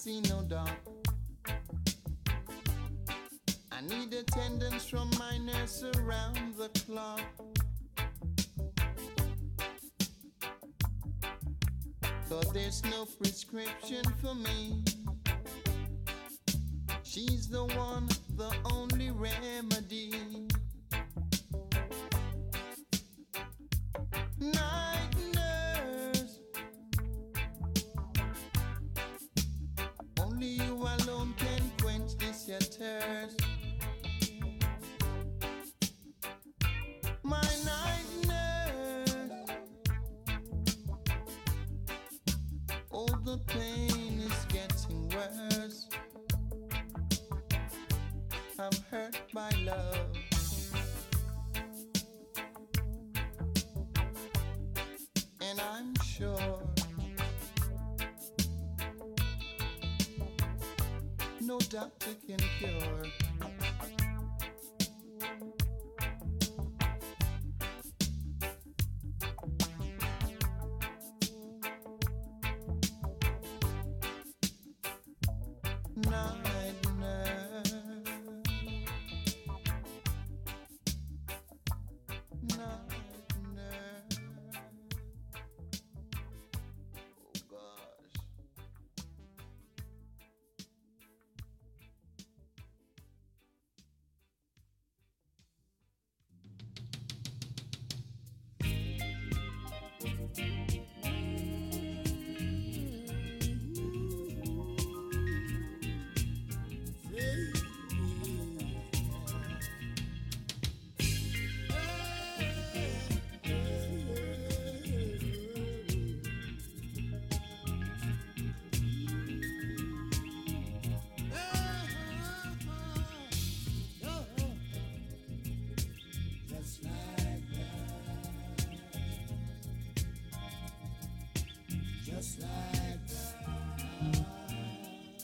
see no dark. I need attendance from my nurse around the clock. Cause there's no prescription for me. She's the one, the only remedy. Night nurse, only you alone can quench this your thirst. My night nurse, all the pain is getting worse. I'm hurt by love. And I'm sure no doctor can cure. Night nurse, night nurse. Oh gosh. Just like that, just like that,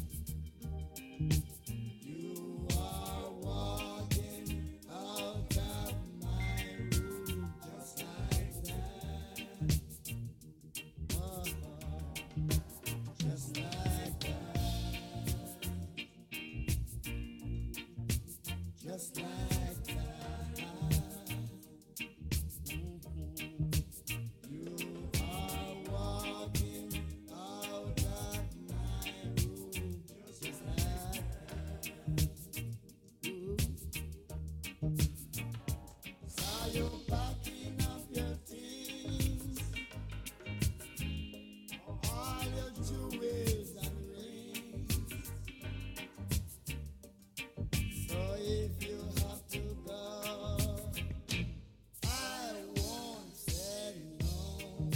you are walking out of my room, just like that, just like that, just like that. You are walking out of my room, just like that. Ooh. Saw you packing up your things, all your jewels and rings. So if you have to go, I won't say no.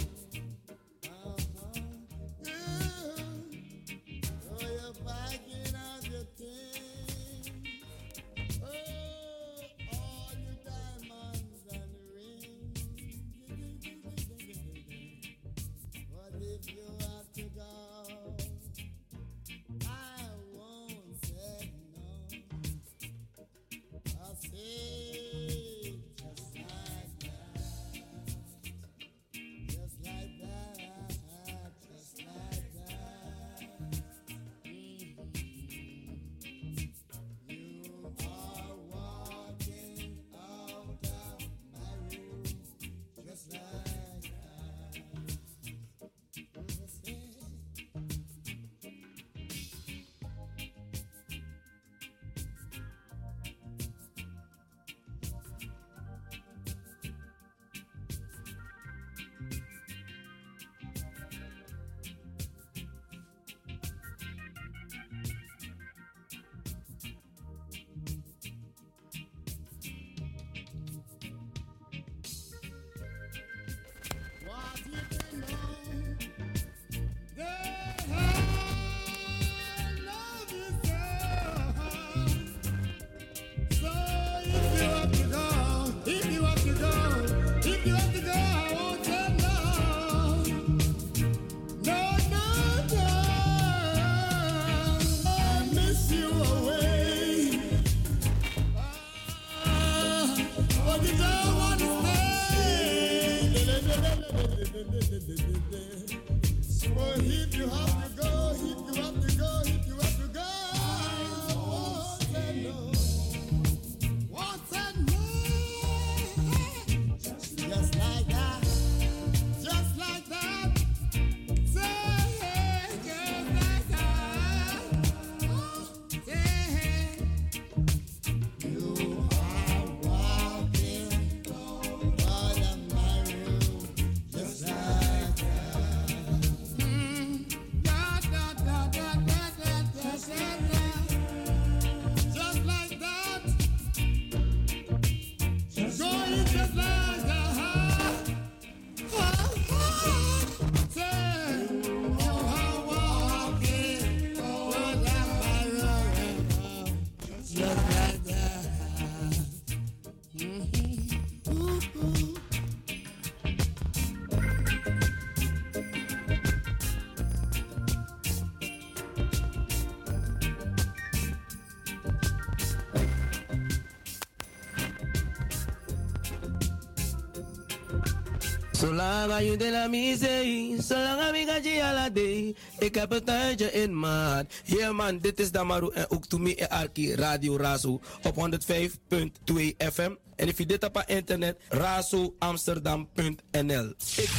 Yeah. So you're packing up your things, oh, all your diamonds and Zolang je de la misei, zolang ik ga je ala day. Ik heb een tuintje in maat. Yeah man, dit is Damaru en ook to me en Arki Radio Razo op 105.2 FM. En if je dit op internet, razoamsterdam.nl.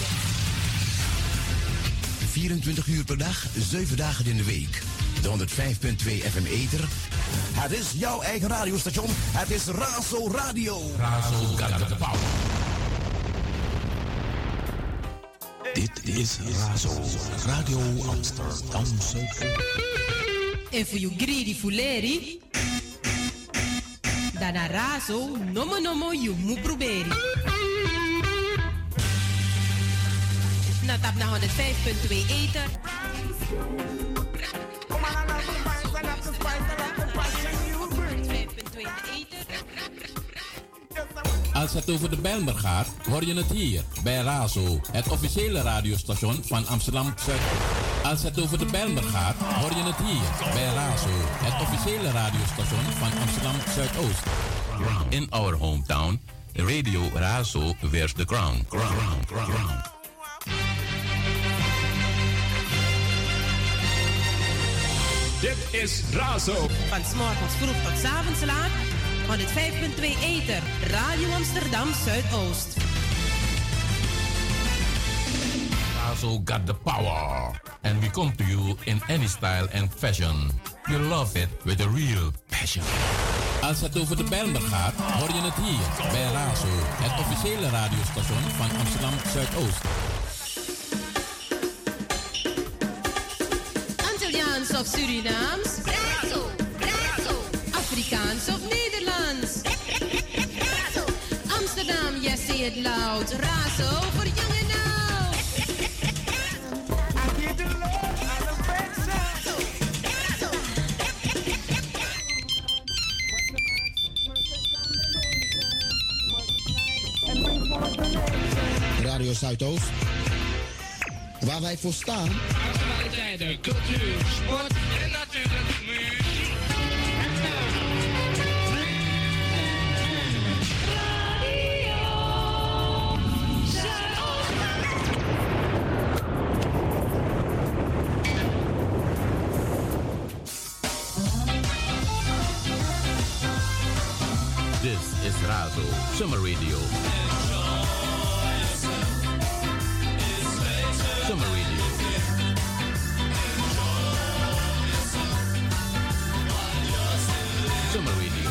24 uur per dag, 7 dagen in de week. De 105.2 FM Ether. Het is jouw eigen radiostation. Het is Razo Radio. Razo got the power. Dit is Razo Radio Amsterdam. En voor you greedy fuleri, dan a Razo nomo you mu proberi. Na tap na 105.2 Ether. Als het over de Bijlmer gaat, hoor je het hier bij Razo, het officiële radiostation van Amsterdam Zuid. Als het over de Bijlmer gaat, hoor je het hier bij Razo, het officiële radiostation van Amsterdam Zuidoost. In our hometown, Radio Razo wears the crown. Dit is Razo. Van 's morgens vroeg tot 's avonds laat. 105.2 Ether, Radio Amsterdam Zuidoost. Razo got the power. And we come to you in any style and fashion. You love it with a real passion. Als het over de Bijlmer gaat, hoor je het hier bij Razo, het officiële radiostation van Amsterdam Zuidoost. Antilliaans of Surinaams? Razo, Razo. Afrikaans of Nederlands? Razo. Amsterdam, yes, say it loud. Razo voor jong en oud. I give the Lord all the Razo. Radio Zuidoost, waar wij voor staan. Actualiteiten, cultuur, sport en natuurlijk muziek. This is Razo Summer Radio. Summer Radio. Summer Radio.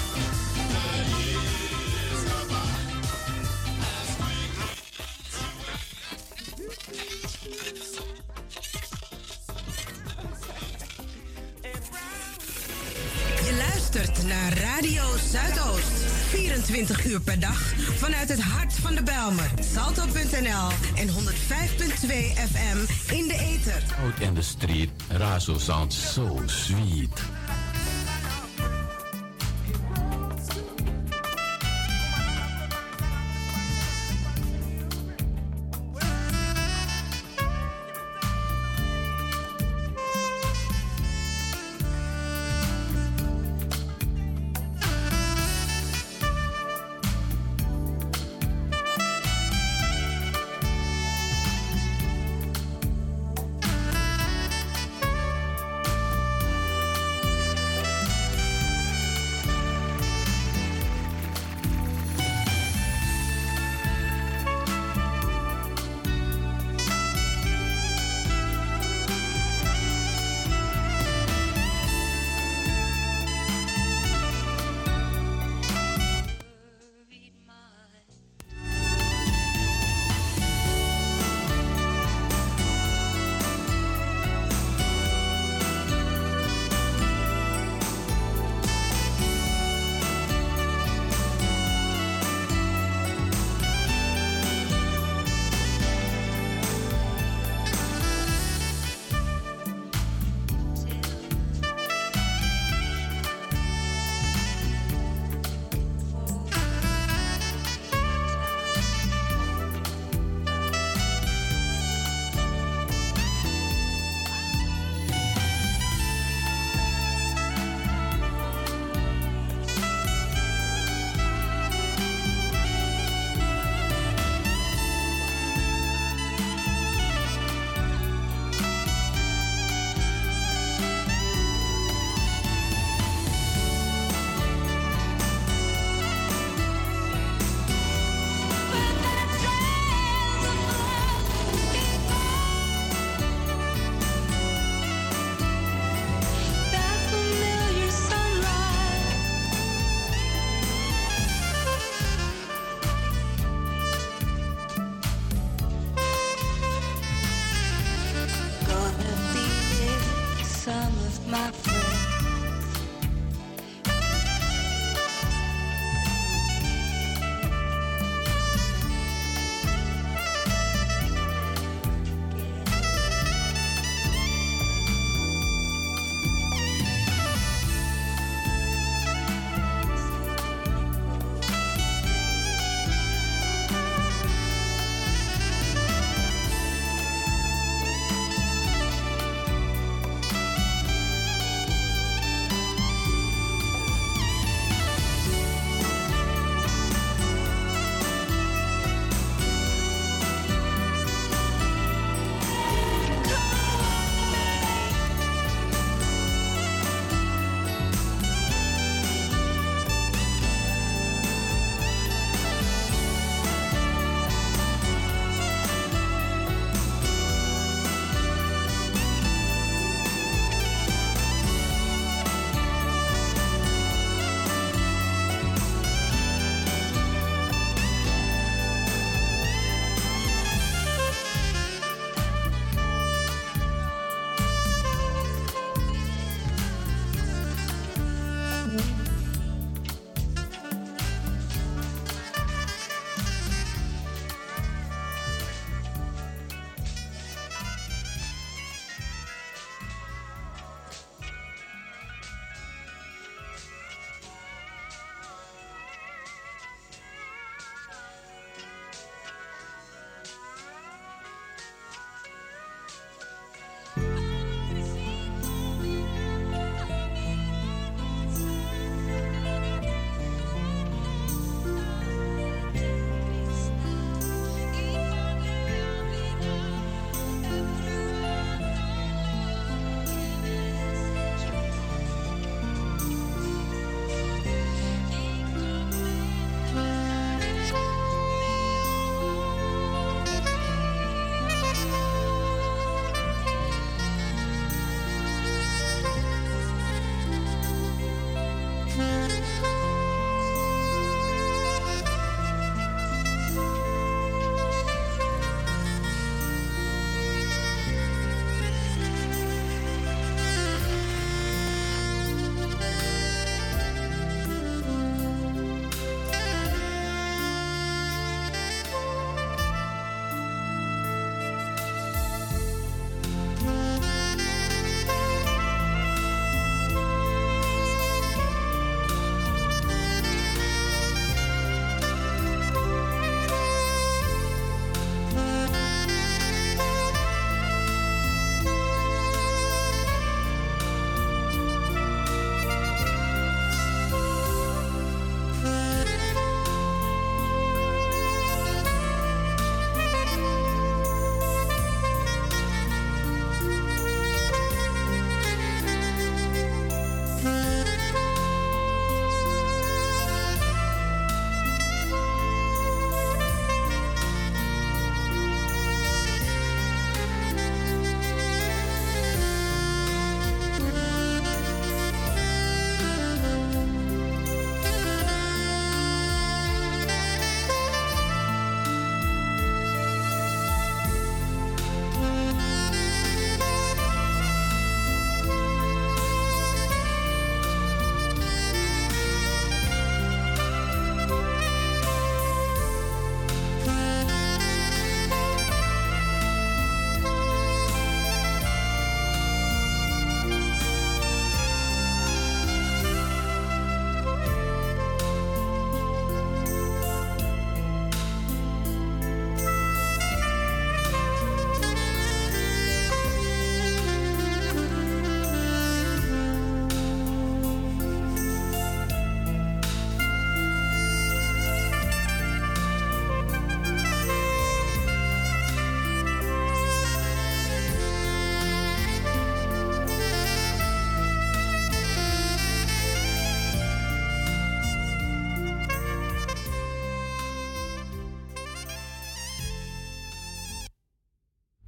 Je luistert naar Radio Zuidoost. 24 uur per dag vanuit het hart van de Bijlmer. Salto.nl en 105.2 FM in de ether. Out in the street, Razo sounds so sweet.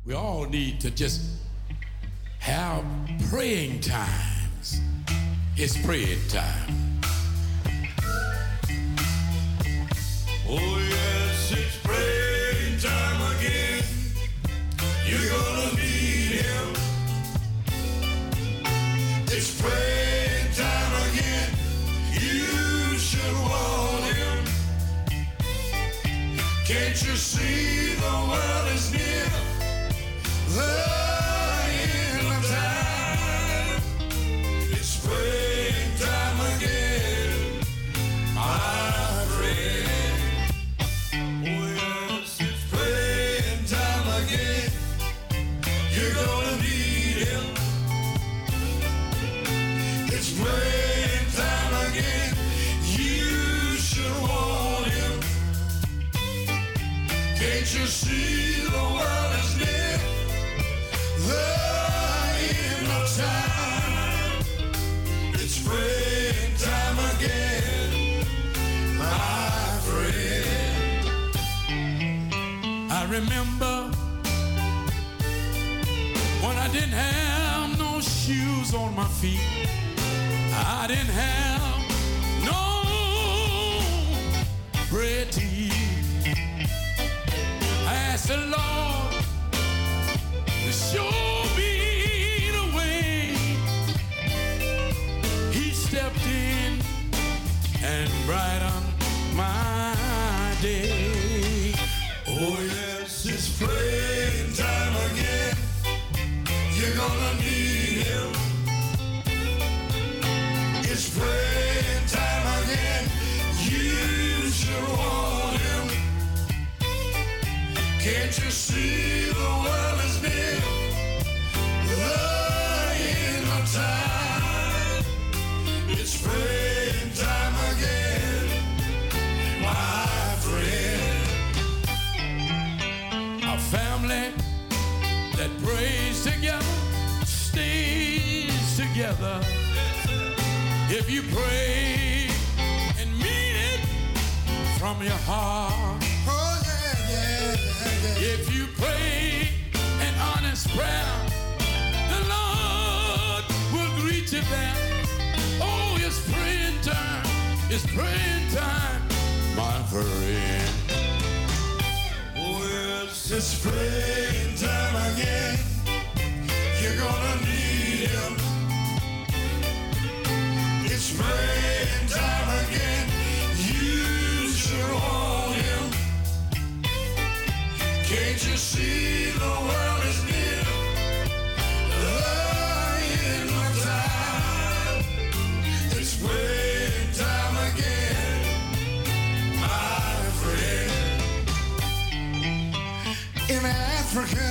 We all need to just have praying times. It's praying time. Oh yes, it's praying time again. You're gonna need him. It's praying time again. You should want him. Can't you see the world is near? The end of time. It's praying time again, my friend. Oh yes, it's praying time again. You're gonna need him. It's praying time again. You should want him. Can't you see the world is near? The end of time. It's praying time again, my friend. I remember when I didn't have no shoes on my feet. I didn't have no bread to eat. I asked the Lord to show me the way. He stepped in and brightened my day. Oh yes, it's praying time again. You're gonna need him. It's praying time again. You should want him. Can't you see the world is near? The end of time. It's praying time again, my friend. A family that prays together stays together. If you pray and mean it from your heart. Oh yeah, yeah, yeah. If you pray an honest prayer, the Lord will greet you there. Oh, it's praying time. It's praying time, my friend. Oh yes, it's praying time again. You're gonna need him. It's praying time again. You should want him. Can't you see the world is near? The end of time. It's praying time again, my friend. In Africa,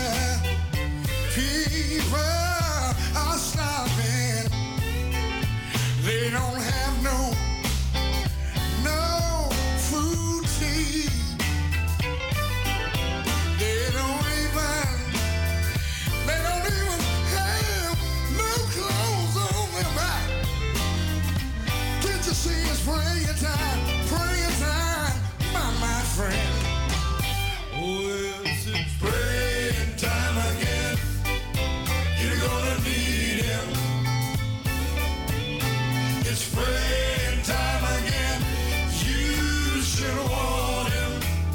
people are starving. They don't have no food to eat. They don't even have no clothes on their back. Can't you see it's praying time, my friend? Oh, yes, it's praying time again. You're gonna need him. It's praying time again. You should want him.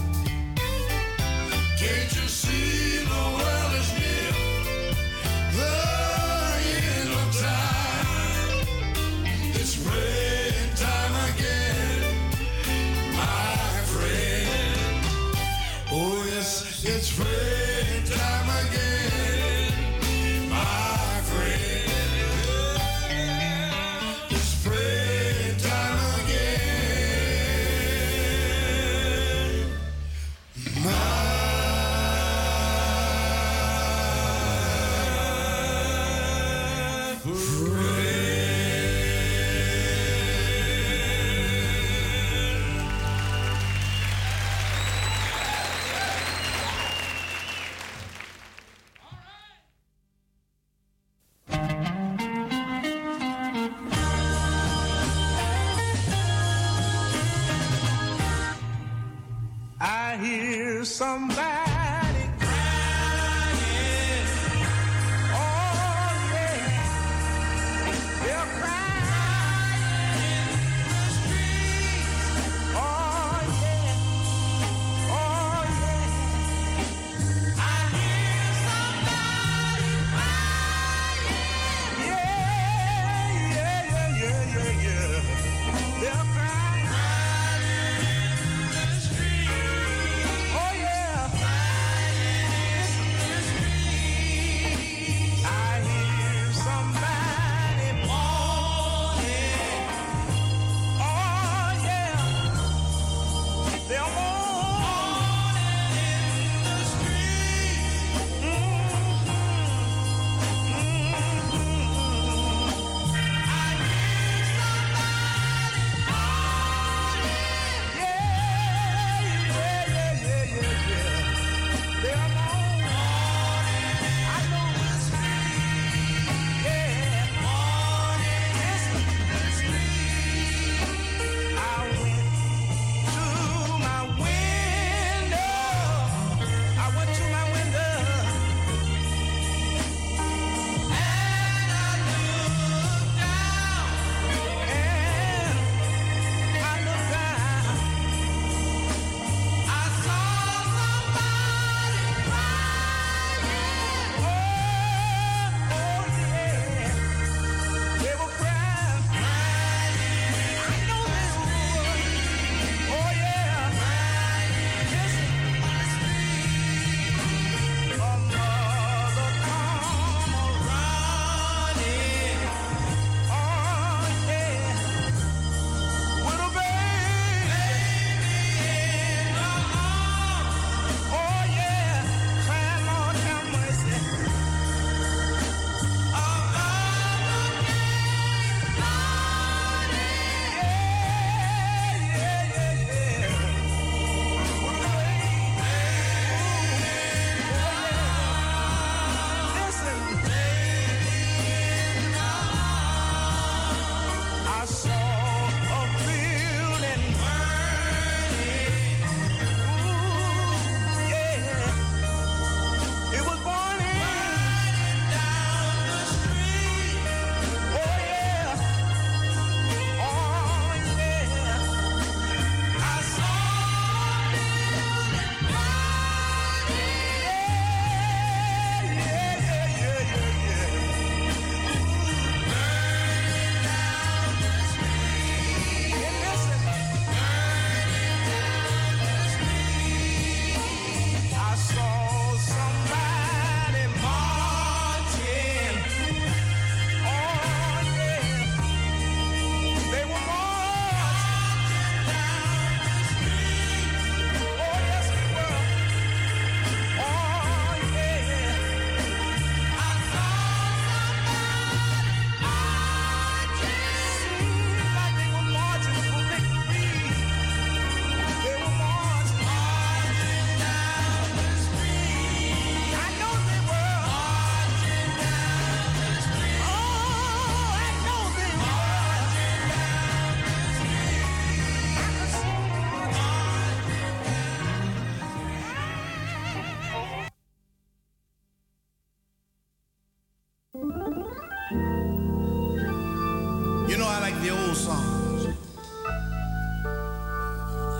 Can't you see the world is near? The end of time. It's praying time again, my friend. Oh yes, it's praying time again, my friend. It's praying time again, my I hear somebody crying.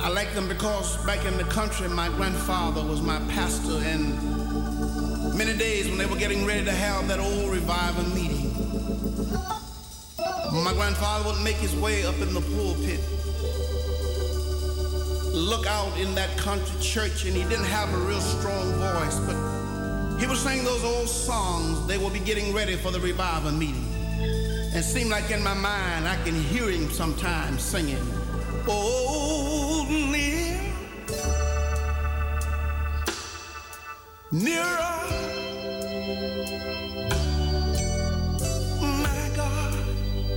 I like them because back in the country, my grandfather was my pastor, and many days when they were getting ready to have that old revival meeting, my grandfather would make his way up in the pulpit, look out in that country church, and he didn't have a real strong voice, but he would sing those old songs. They would be getting ready for the revival meeting. And it seemed like in my mind, I can hear him sometimes singing, "Oh, near, nearer, my God,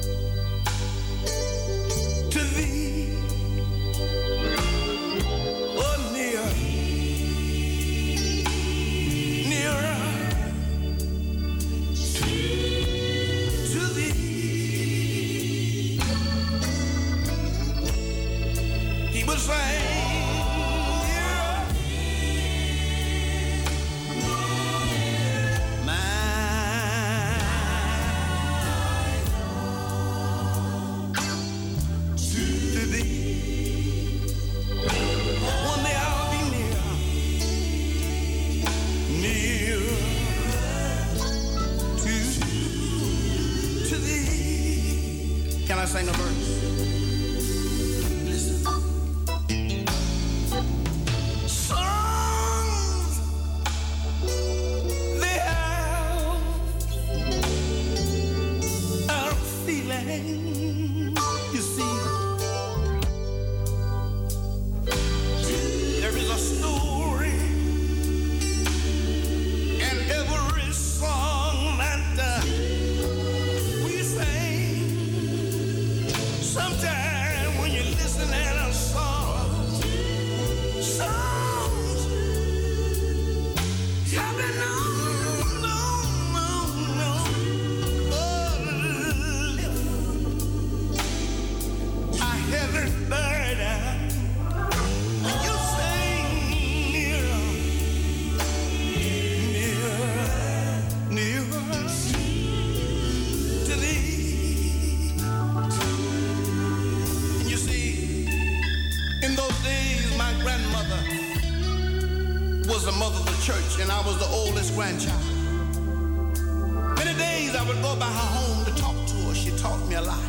to thee, oh, near, nearer, to thee." He would say, sing a verse. Listen. Songs they have a feeling. You see, there is a story, and every song that we sing. Sometimes when you listen at a song, songs have been no. I haven't heard you sing nearer to thee. In those days, my grandmother was the mother of the church, and I was the oldest grandchild. Many days I would go by her home to talk to her. She taught me a lot.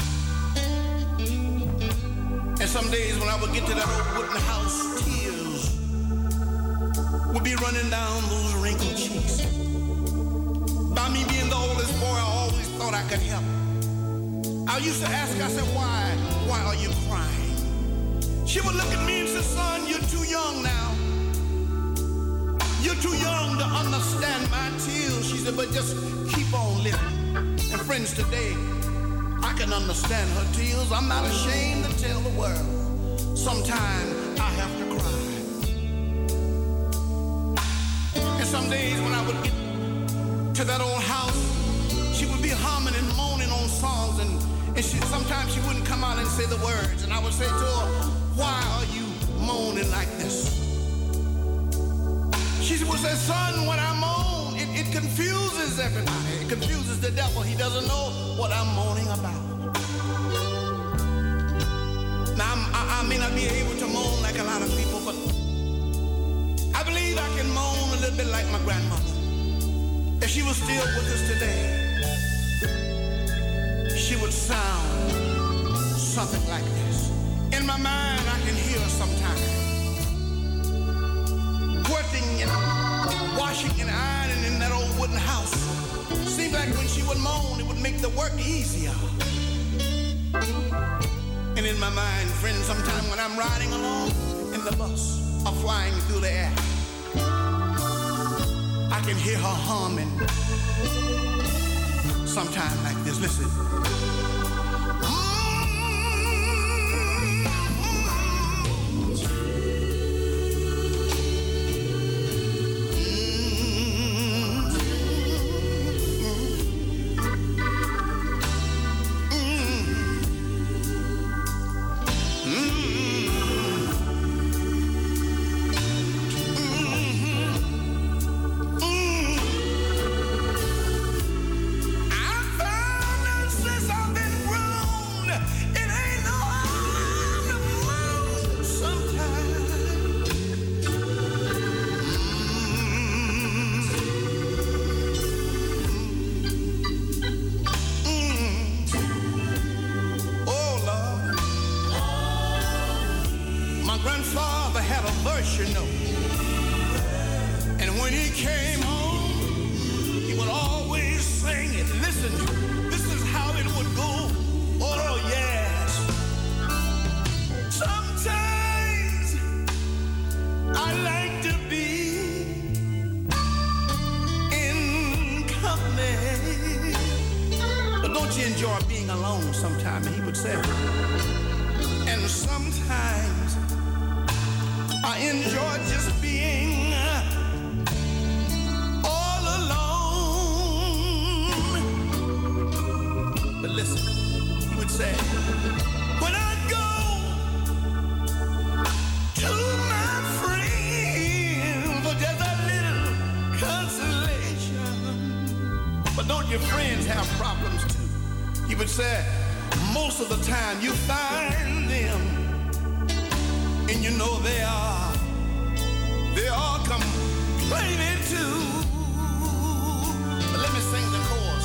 And some days when I would get to that old wooden house, tears would be running down those wrinkled cheeks. By me being the oldest boy, I always thought I could help. I used to ask, I said, why are you crying? She would look at me and say, "Son, you're too young now. You're too young to understand my tears." She said, "But just keep on living." And friends, today, I can understand her tears. I'm not ashamed to tell the world. Sometimes I have to cry. And some days when I would get to that old house, she would be humming and moaning on songs, and sometimes she wouldn't come out and say the words. And I would say to her, "Why are you moaning like this?" She would say, "Son, when I moan, it confuses everybody. It confuses the devil. He doesn't know what I'm moaning about." Now, I may not be able to moan like a lot of people, but I believe I can moan a little bit like my grandmother. If she was still with us today, she would sound something like this. In my mind, I can hear her sometimes working and washing and ironing in that old wooden house. Seemed like when she would moan, it would make the work easier. And in my mind, friends, sometimes when I'm riding along in the bus or flying through the air, I can hear her humming sometime like this. Listen. I found a sense of grandfather had a verse, you know. And when he came home, he would always sing it. Listen, this is how it would go. Oh, yes. Sometimes I like to be in company. But don't you enjoy being alone sometimes? He would say. And sometimes I enjoy just being all alone. But listen, he would say, when I go to my friend for just a little consolation. But don't your friends have problems too? He would say, most of the time you find them, and you know they all complaining too. But let me sing the chorus.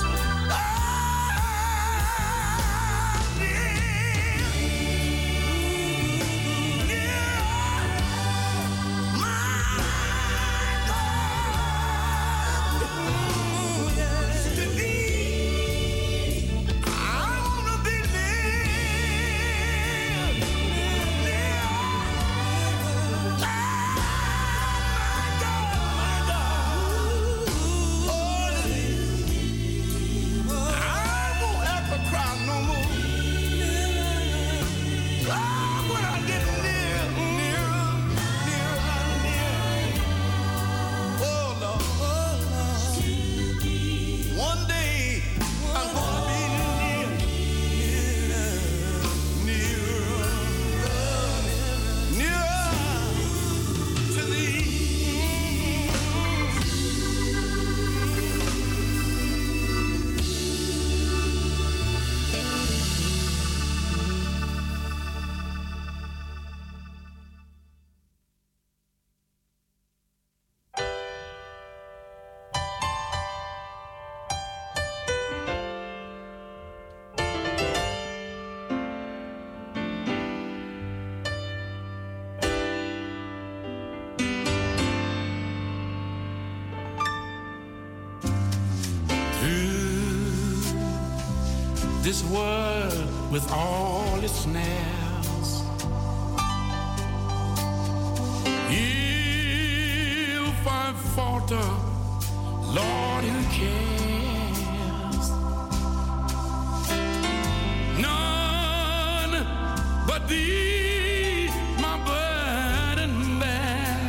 This world with all its snares, if I falter, Lord, who cares? None but Thee, my burden bear.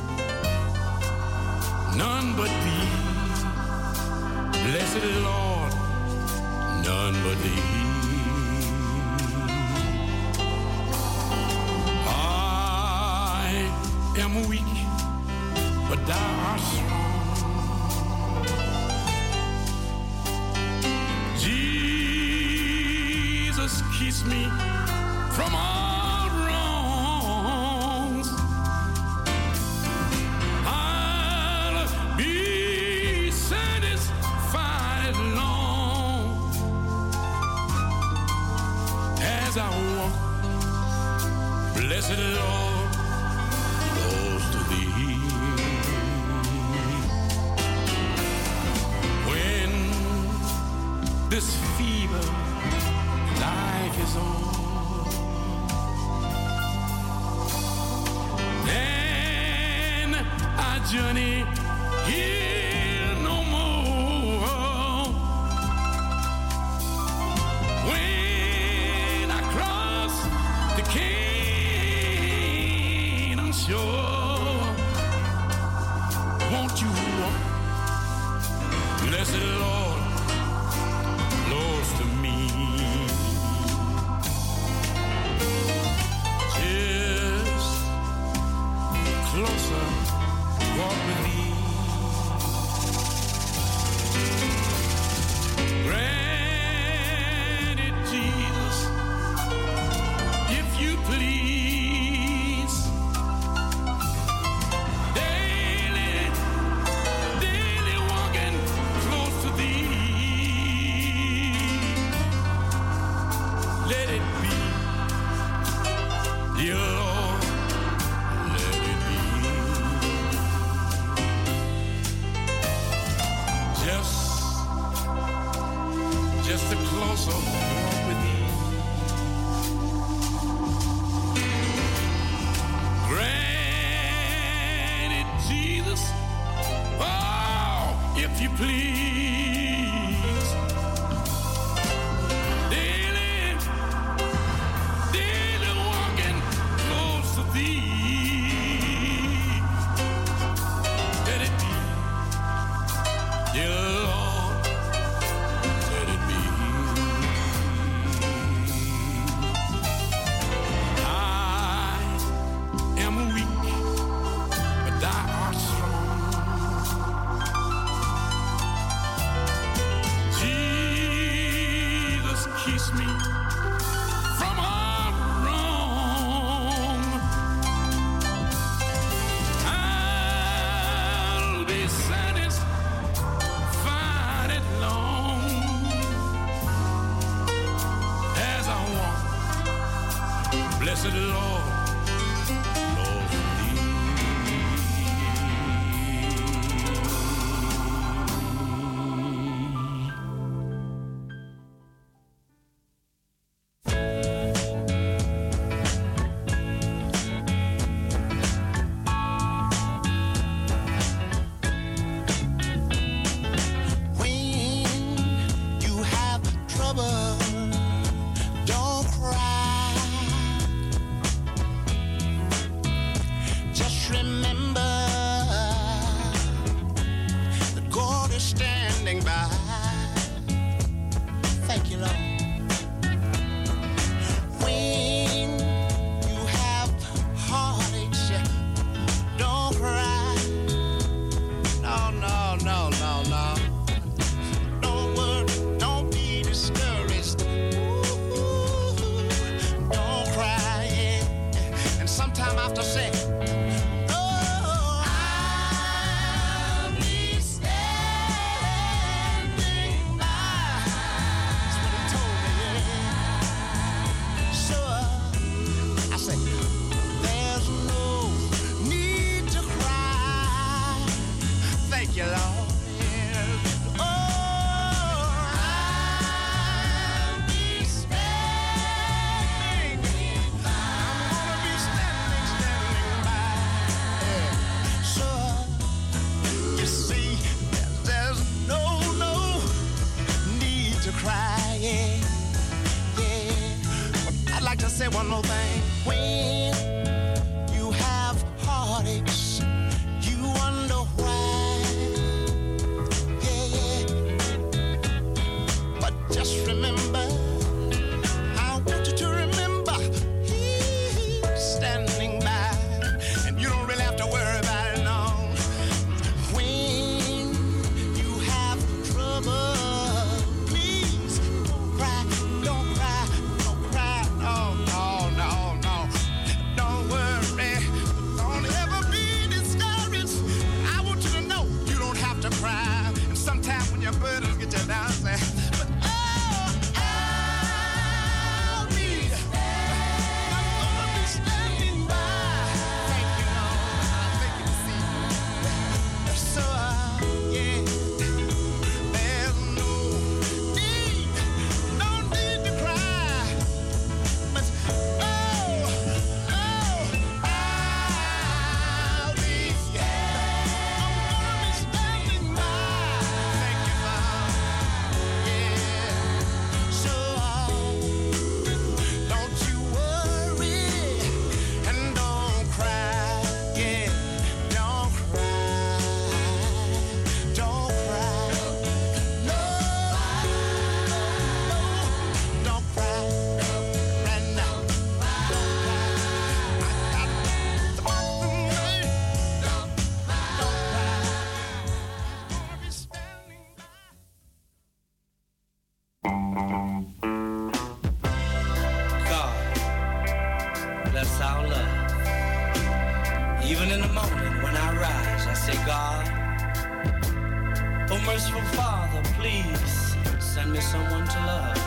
None but Thee, blessed Lord. None but Thee. I am weak, but Thou art strong. Jesus keeps me from all wrongs. I'll be satisfied long as I walk, blessed Lord, close to Thee. When this feeble life is on, then I journey here no more. When I cross the Canaan shore, won't you walk, blessed Lord, close to me? Just closer, walk with Thee. Grant it, Jesus, if You please. Daily, daily walking close to Thee. thee. Let it be, dear Lord, let it be. I am weak, but thou art strong. Jesus keeps me from all wrong. I'll be satisfied at long as I walk, blessed Lord. One more thing. When you have heartaches, you wonder why. Yeah. But just remember, I want you to remember, He's standing by, and you don't really have to worry about it long. When you have trouble, please don't cry, don't cry, don't cry, no. Don't worry, don't ever be discouraged. I want you to know you don't have to cry. And sometimes when your burdens get you down, say, but oh, I'm gonna be standing by. Thank you, Lord. Thank you, see. So, yeah, there's no need to cry. But that's our love. Even in the morning when I rise, I say, God, oh merciful Father, please send me someone to love.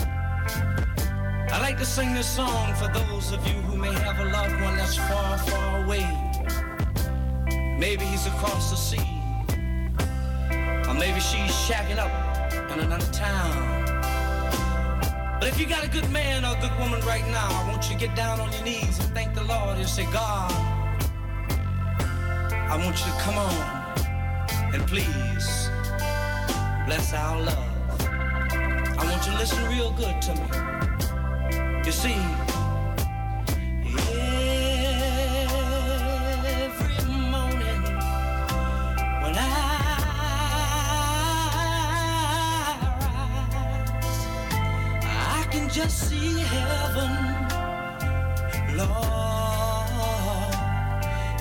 I like to sing this song for those of you who may have a loved one that's far, far away. Maybe he's across the sea, or maybe she's shacking up in another town. But if you got a good man or a good woman right now, I want you to get down on your knees and thank the Lord and say, God, I want you to come on and please bless our love. I want you to listen real good to me. You see, yeah.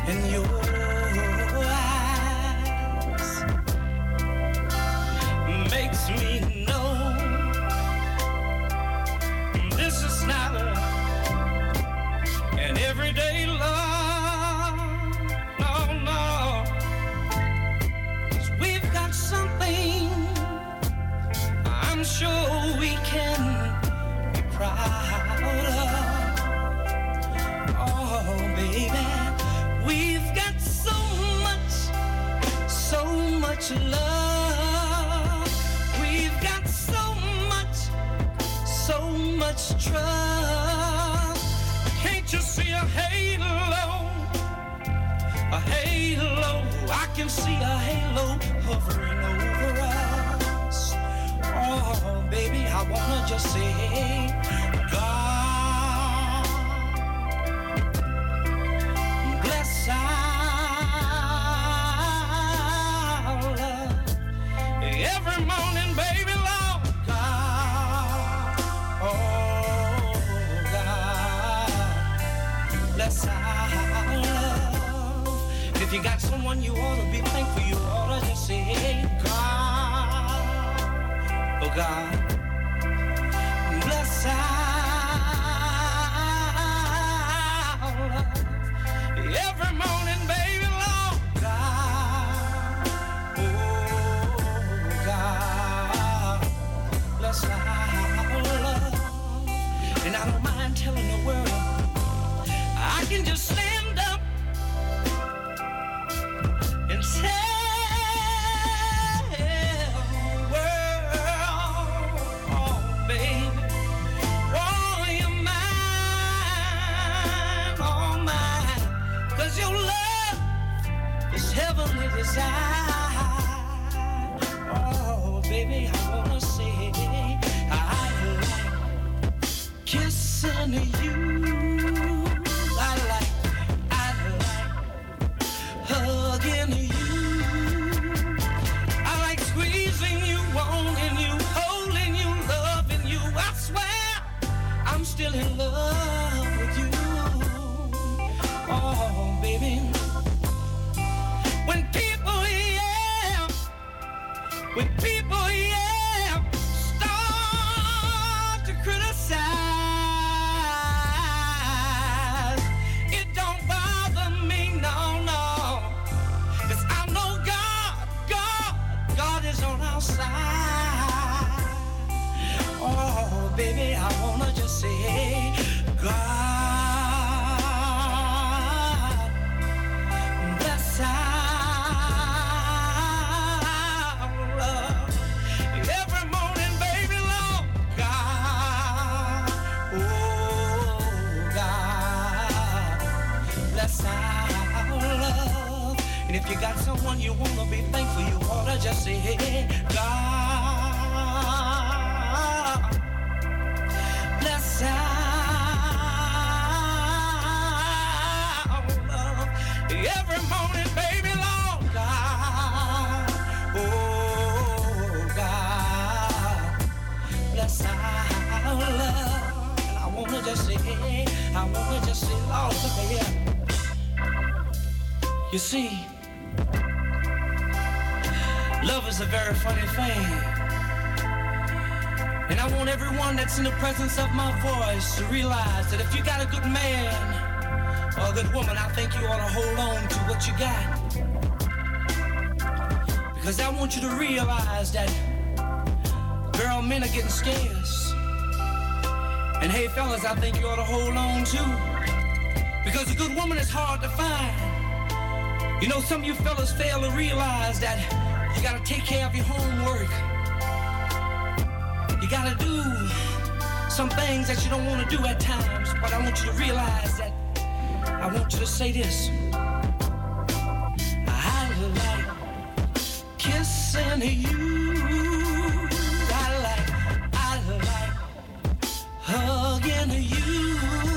in your eyes makes me know this is not an everyday love. No, no. 'Cause we've got something I'm sure we can be proud of. Oh, baby, we've got so much love. We've got so much trust. Can't you see a halo? A halo. I can see a halo hovering over us. Oh, baby, I wanna just say, God bless our love. Every morning, baby, Lord God. Oh, God bless our love. If you got someone you ought to be thankful, you ought to just say, God, oh God, bless our love. Every morning, baby, Lord God, oh God, bless our love. And I don't mind telling the world, I can just stand up and tell the world, oh baby, oh you're mine, oh mine, 'cause your love is heavenly desire. Oh baby, I wanna say I like kissing you. I like hugging you. I like squeezing you, wanting you, holding you, loving you. I swear I'm still in love with you. Oh, baby. When people, start to criticize, it don't bother me, no, no. 'Cause I know God is on our side. Oh, baby, I wanna just say, God bless our love. Every morning, baby, Lord God, oh God, bless our love. And if you got someone you wanna be thankful, you ought to just say, God bless our love. Every morning, baby, Lord God, oh God, bless our love. And I wanna just say, Lord, look at here. You see, love is a very funny thing. And I want everyone that's in the presence of my voice to realize that if you got a good man or a good woman, I think you ought to hold on to what you got. Because I want you to realize that, girl, men are getting scarce. And hey, fellas, I think you ought to hold on too. Because a good woman is hard to find. You know, some of you fellas fail to realize that you gotta take care of your homework. You gotta do some things that you don't want to do at times, but I want you to realize that, I want you to say this. I like kissing you. I like hugging you.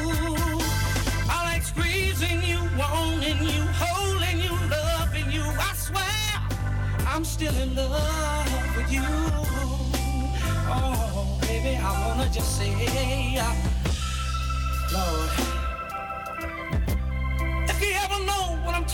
I like squeezing you, wanting you, holding you, loving you. I swear I'm still in love with you. Oh, baby, I wanna just say, Lord, if you ever know what I'm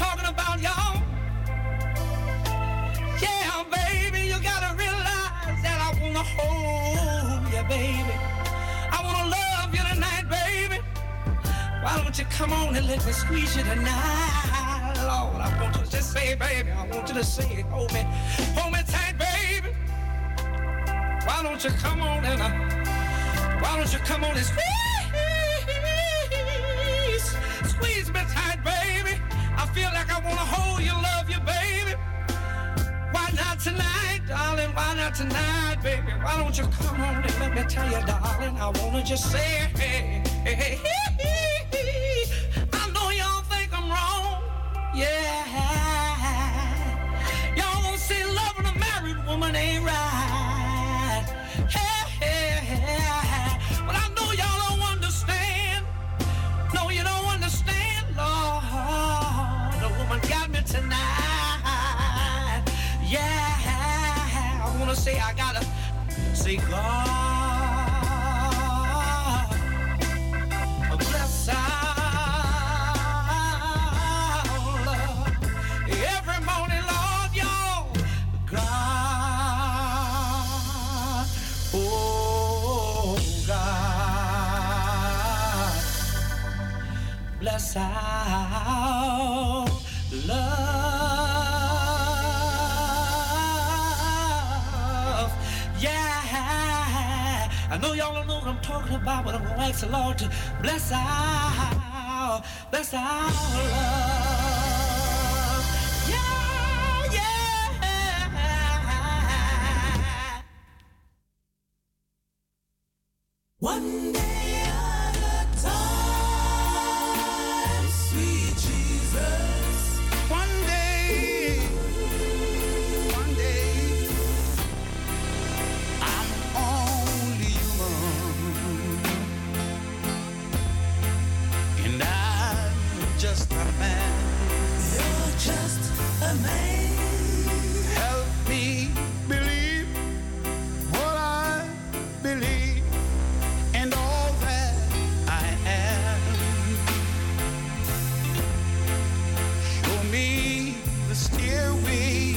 Why don't you come on and let me squeeze you tonight? Lord, I want you to just say, baby, I want you to say it. Hold me tight, baby. Why don't you come on and squeeze me tight, baby. I feel like I wanna hold you, love you, baby. Why not tonight, darling? Why not tonight, baby? Why don't you come on and let me tell you, darling? I wanna just say, hey, hey, hey, hey, hey. I know y'all think I'm wrong, yeah. Y'all won't say loving a married woman ain't right, hey, hey, hey. But I know y'all don't understand. No, you don't understand, Lord. The woman got me tonight. Yeah, I wanna say I gotta say God bless our love every morning, Lord, y'all. God, oh God, bless our love. Yeah, I know y'all don't know what I'm talking about, but I'm gonna ask the Lord to bless our love. Yeah, yeah. One day at a time, sweet Jesus. One day, I'm only human, and I'm just a man. You're just a man. Help me believe what I believe and all that I am. Show me the stairway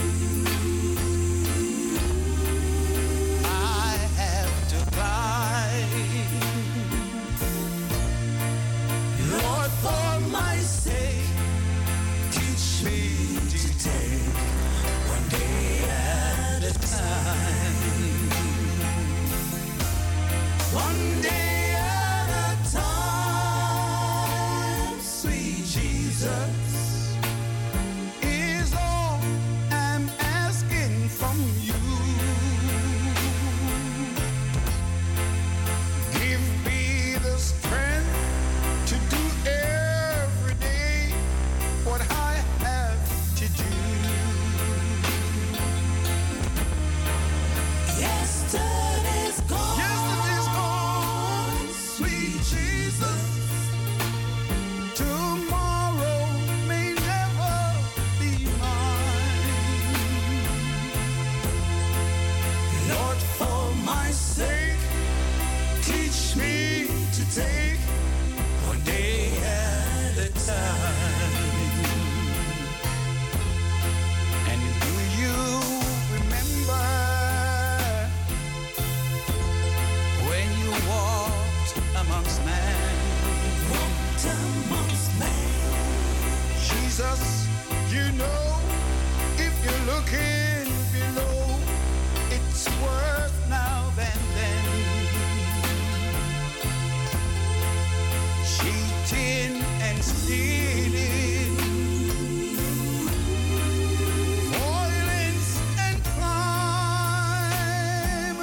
I have to climb. Lord, for my sake, teach me to take one day at a time. One day at a time, sweet Jesus, is all I'm asking from you. Give me the strength to do every day what I have to do. Yesterday's gone, sweet Jesus. Tomorrow may never be mine. Lord, for my sake, teach me to take one day at a time. And do you remember when you walked amongst men? Walked amongst men. Jesus, you know, if you're looking below, it's worse now than then. Cheating and stealing, violence and crime.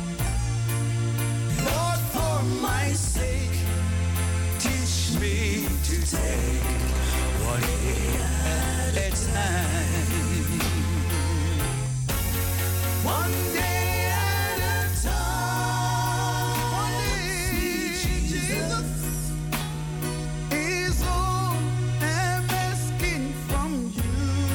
Lord, for my sake, teach me to take one day at a time. One day at a time. One day, Jesus, is all I'm asking from you.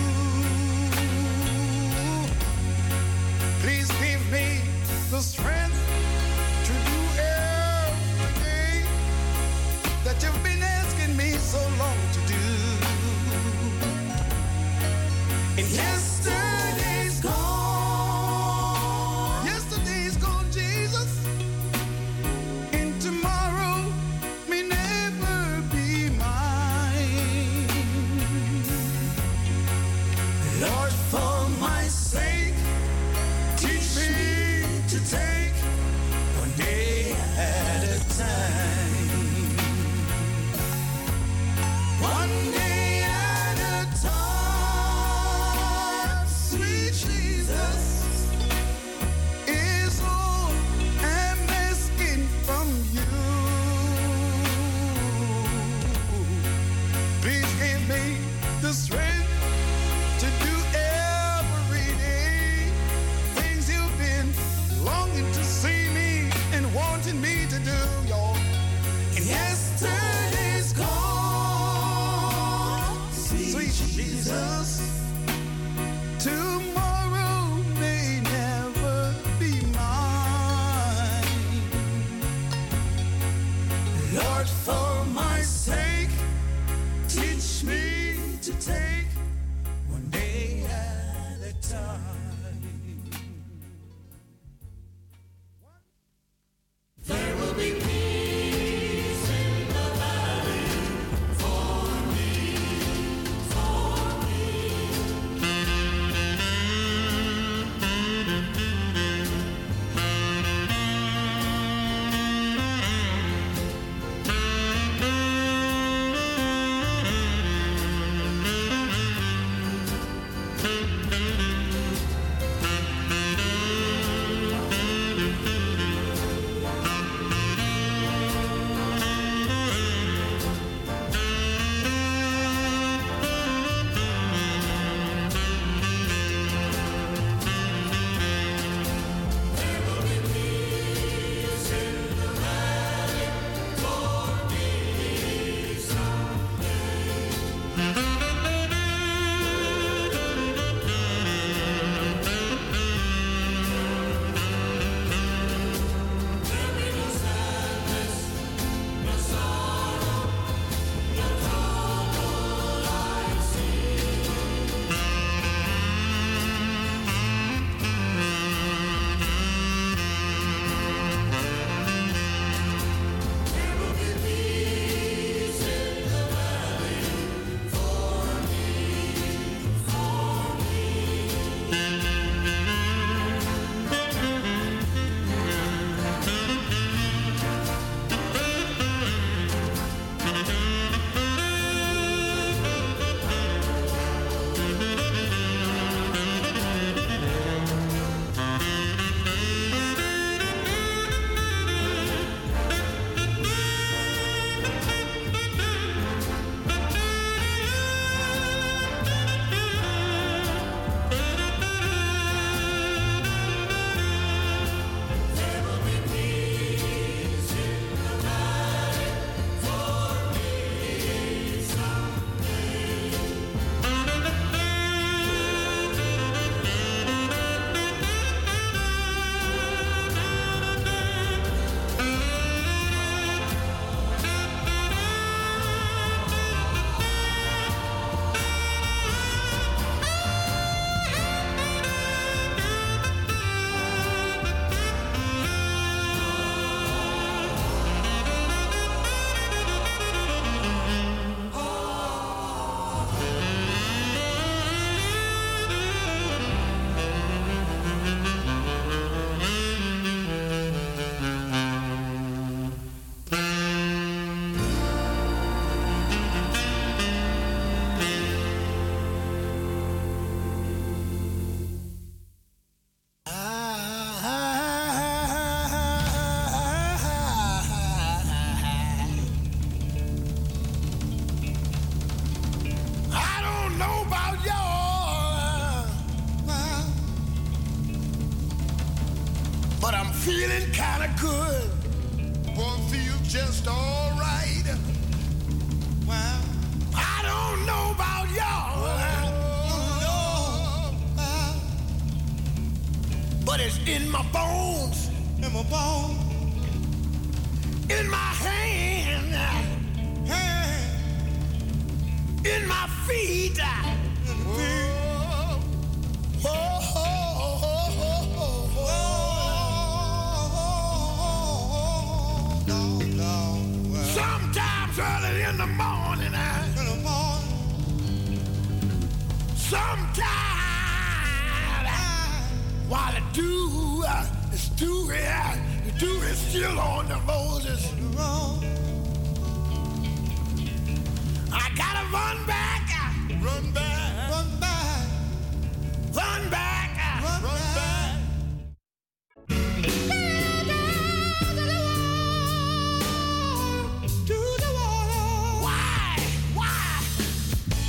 Please give me the strength to do every day that you've been asking me so long to do. And yesterday's gone. Yesterday's gone, Jesus. And tomorrow may never be me the strength to do every day things you've been longing to see me and wanting me to do, y'all. Yesterday's gone, sweet Jesus. Tomorrow may never be mine. Lord, for my sake, teach me to take one day at a time. There will be peace in the valley for me, for me. feeling kinda good. Boy, feel just alright. Well, I don't know about y'all. But it's in my bones. In my bones. In my hand. In my feet. Sometimes early in the morning. Sometimes while the dew is dewy, the dew is still on the roses. I gotta run back. Run back. Run back. Run back. Run back. To the water. Why? Why?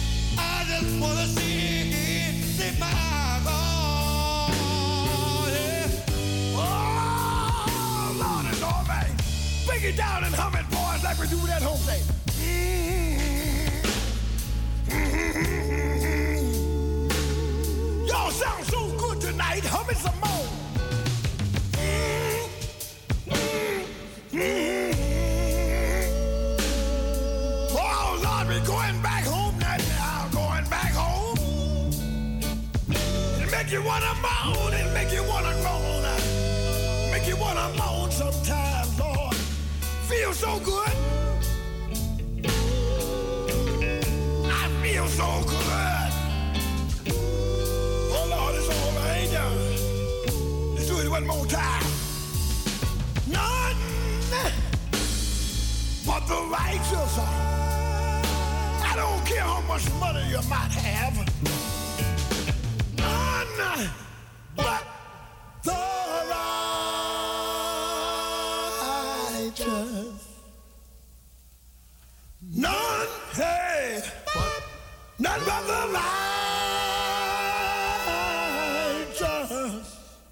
for the city, my God. Yeah. Oh, Lord and Lord, man. Break it down and hum it, boys, like we do that home day. Y'all sound so good tonight. Hum it some more. Oh, Lord, we're going back home now. Going back home. It'll make you wanna moan. It'll make you wanna moan. Make you wanna moan sometimes, Lord. Feels so good. I feel so good. Oh, Lord, it's all right now. Let's do it one more time. None but the righteous. I don't care how much money you might have. None but the righteous. None, hey, none but the righteous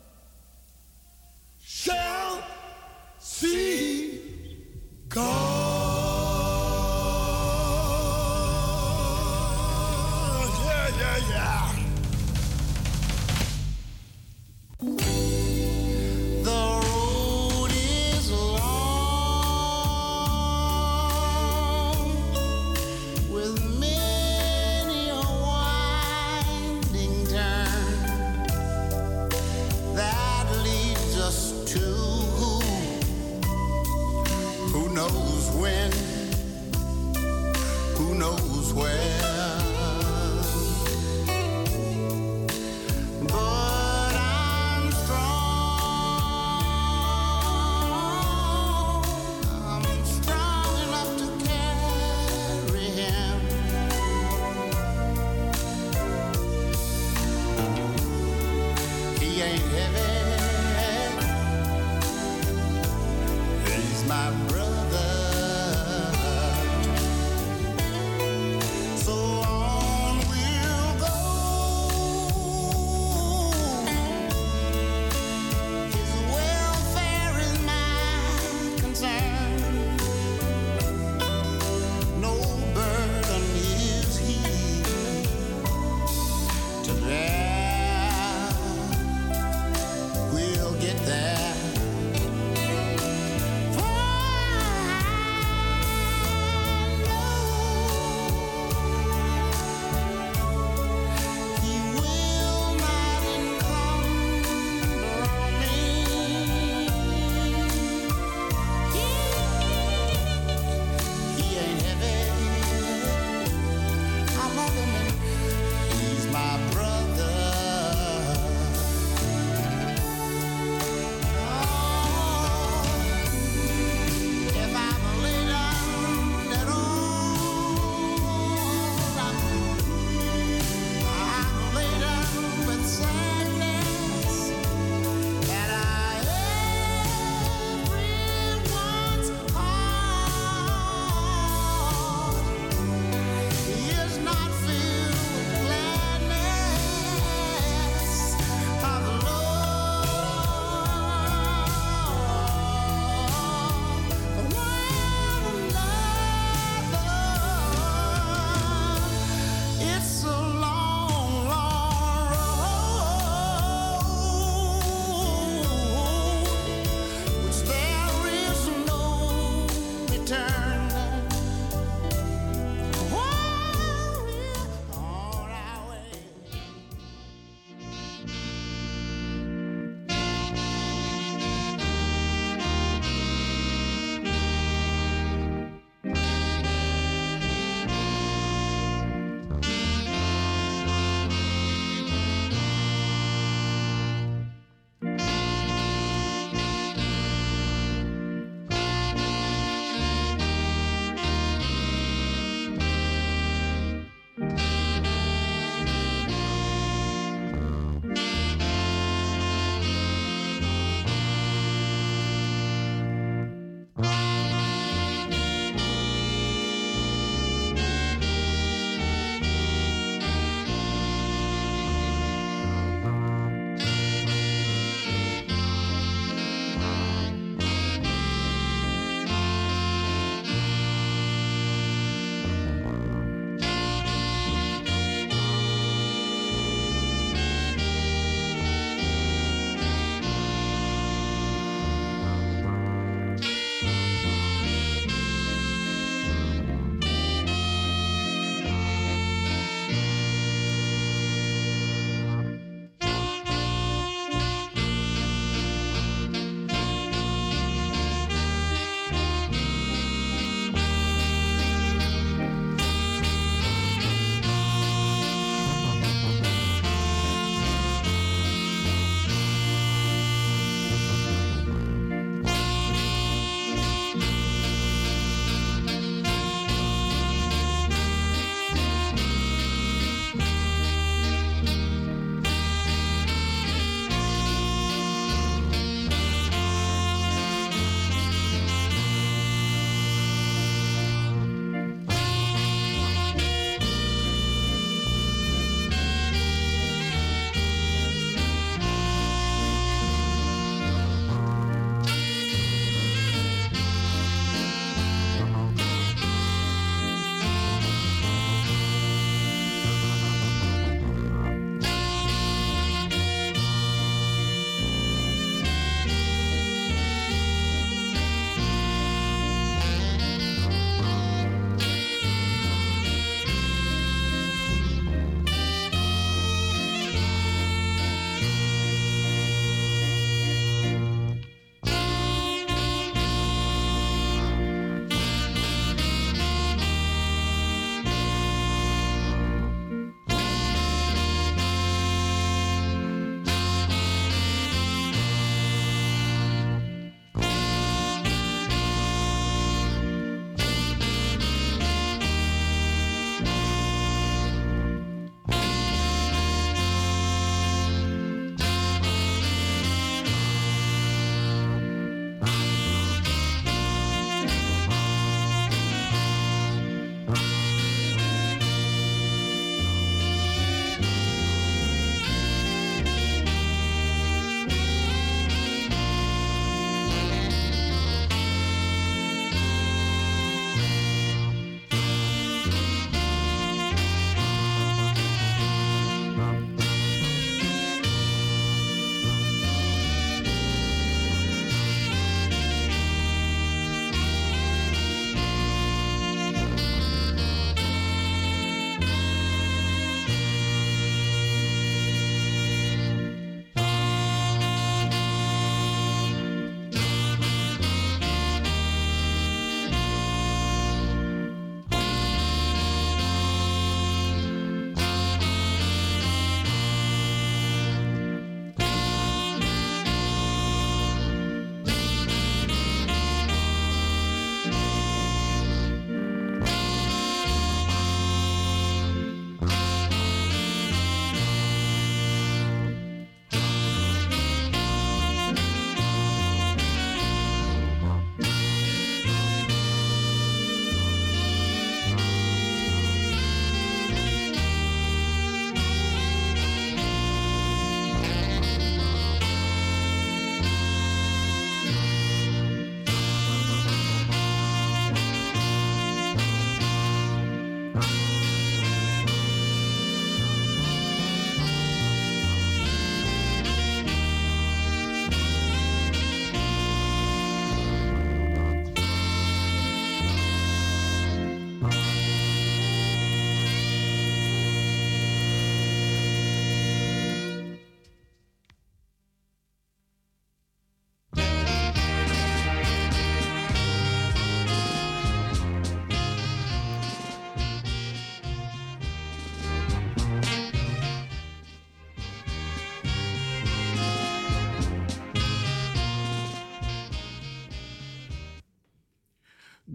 shall see God. Yeah. The road is long with many a winding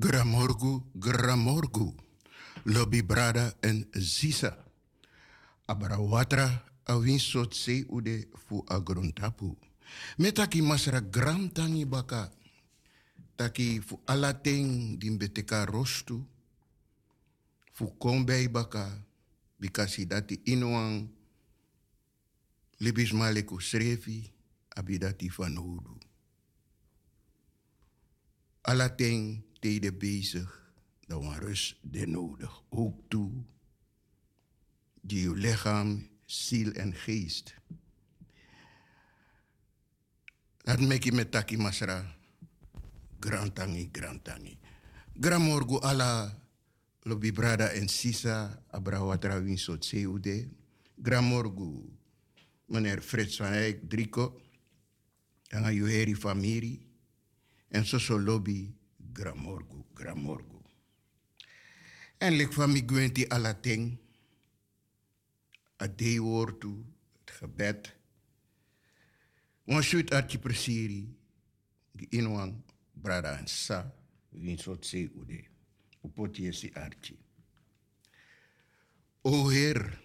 Gramorgu, Lobby Brada en Zisa. Abrawatra awinsot se ude fu agrontapu. Metaki masra gram tangi baka. Taki fu alateng dimbeteka rostu. Fu kombei baka. Bikasi dati inoang libis maleku srefi abidati van hudu. Alateng tijden bezig, dan was rust de nodig. Ook toe, die uw lichaam, ziel en geest. Dat mek je met taki masra. Grantangi. Gramorgu ala lobi brada en sisa abrawatra winsot seude. Gramorgu meneer Frits van Eyck Drico. En aan juheri familie. En zo lobby Gramorgu. En lik van mi gwenti alateng. A deewoortu, het gebed. Wan shoot archi persiri. Gi inwang brada en sa. Win sot se ude. Upoti si archi. O Heer,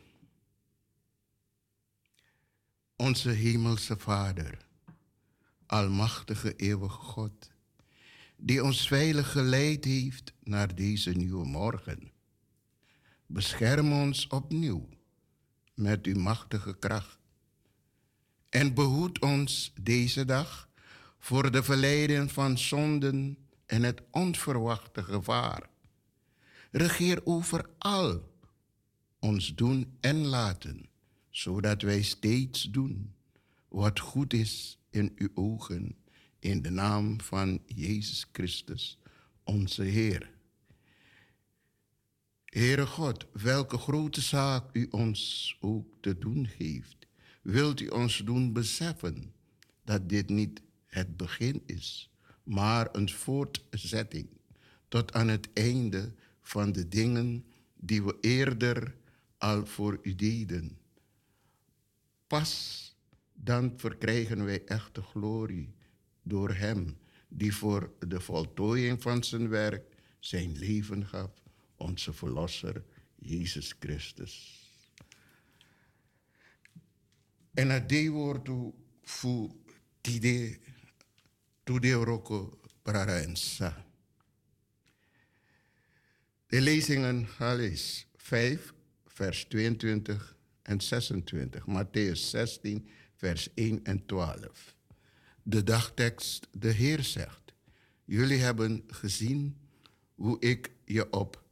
onze hemelse Vader, almachtige eeuwige God, die ons veilig geleid heeft naar deze nieuwe morgen. Bescherm ons opnieuw met uw machtige kracht en behoed ons deze dag voor de verleiding van zonden en het onverwachte gevaar. Regeer over al ons doen en laten, zodat wij steeds doen wat goed is in uw ogen, in de naam van Jezus Christus, onze Heer. Heere God, welke grote zaak u ons ook te doen geeft, wilt u ons doen beseffen dat dit niet het begin is, maar een voortzetting tot aan het einde van de dingen die we eerder al voor u deden. Pas dan verkrijgen wij echte glorie door hem die voor de voltooiing van zijn werk zijn leven gaf, onze verlosser Jezus Christus. En het woord voor tide roko paraensa. De lezingen is 5, vers 22 en 26. Mattheüs 16, vers 1 en 12. De dagtekst, de Heer zegt, jullie hebben gezien hoe ik je op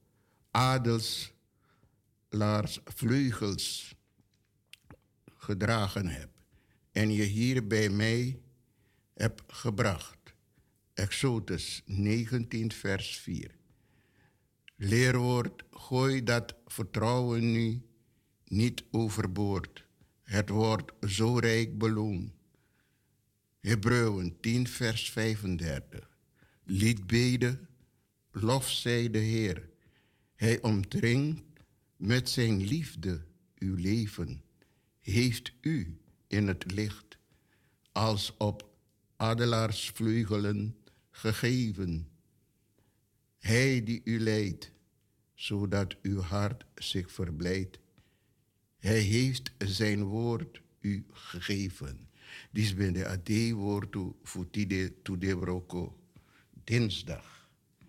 adelslaarsvleugels gedragen heb en je hier bij mij heb gebracht. Exodus 19, vers 4. Leerwoord, gooi dat vertrouwen nu niet overboord. Het wordt zo rijk beloond. Hebreeën 10, vers 35. Liedbeden, lof zij de Heer. Hij omdringt met zijn liefde uw leven. Heeft u in het licht als op adelaarsvleugelen gegeven. Hij die u leidt, zodat uw hart zich verblijdt. Hij heeft zijn woord u gegeven. Dit ben de AD-woord voor de broko dinsdag.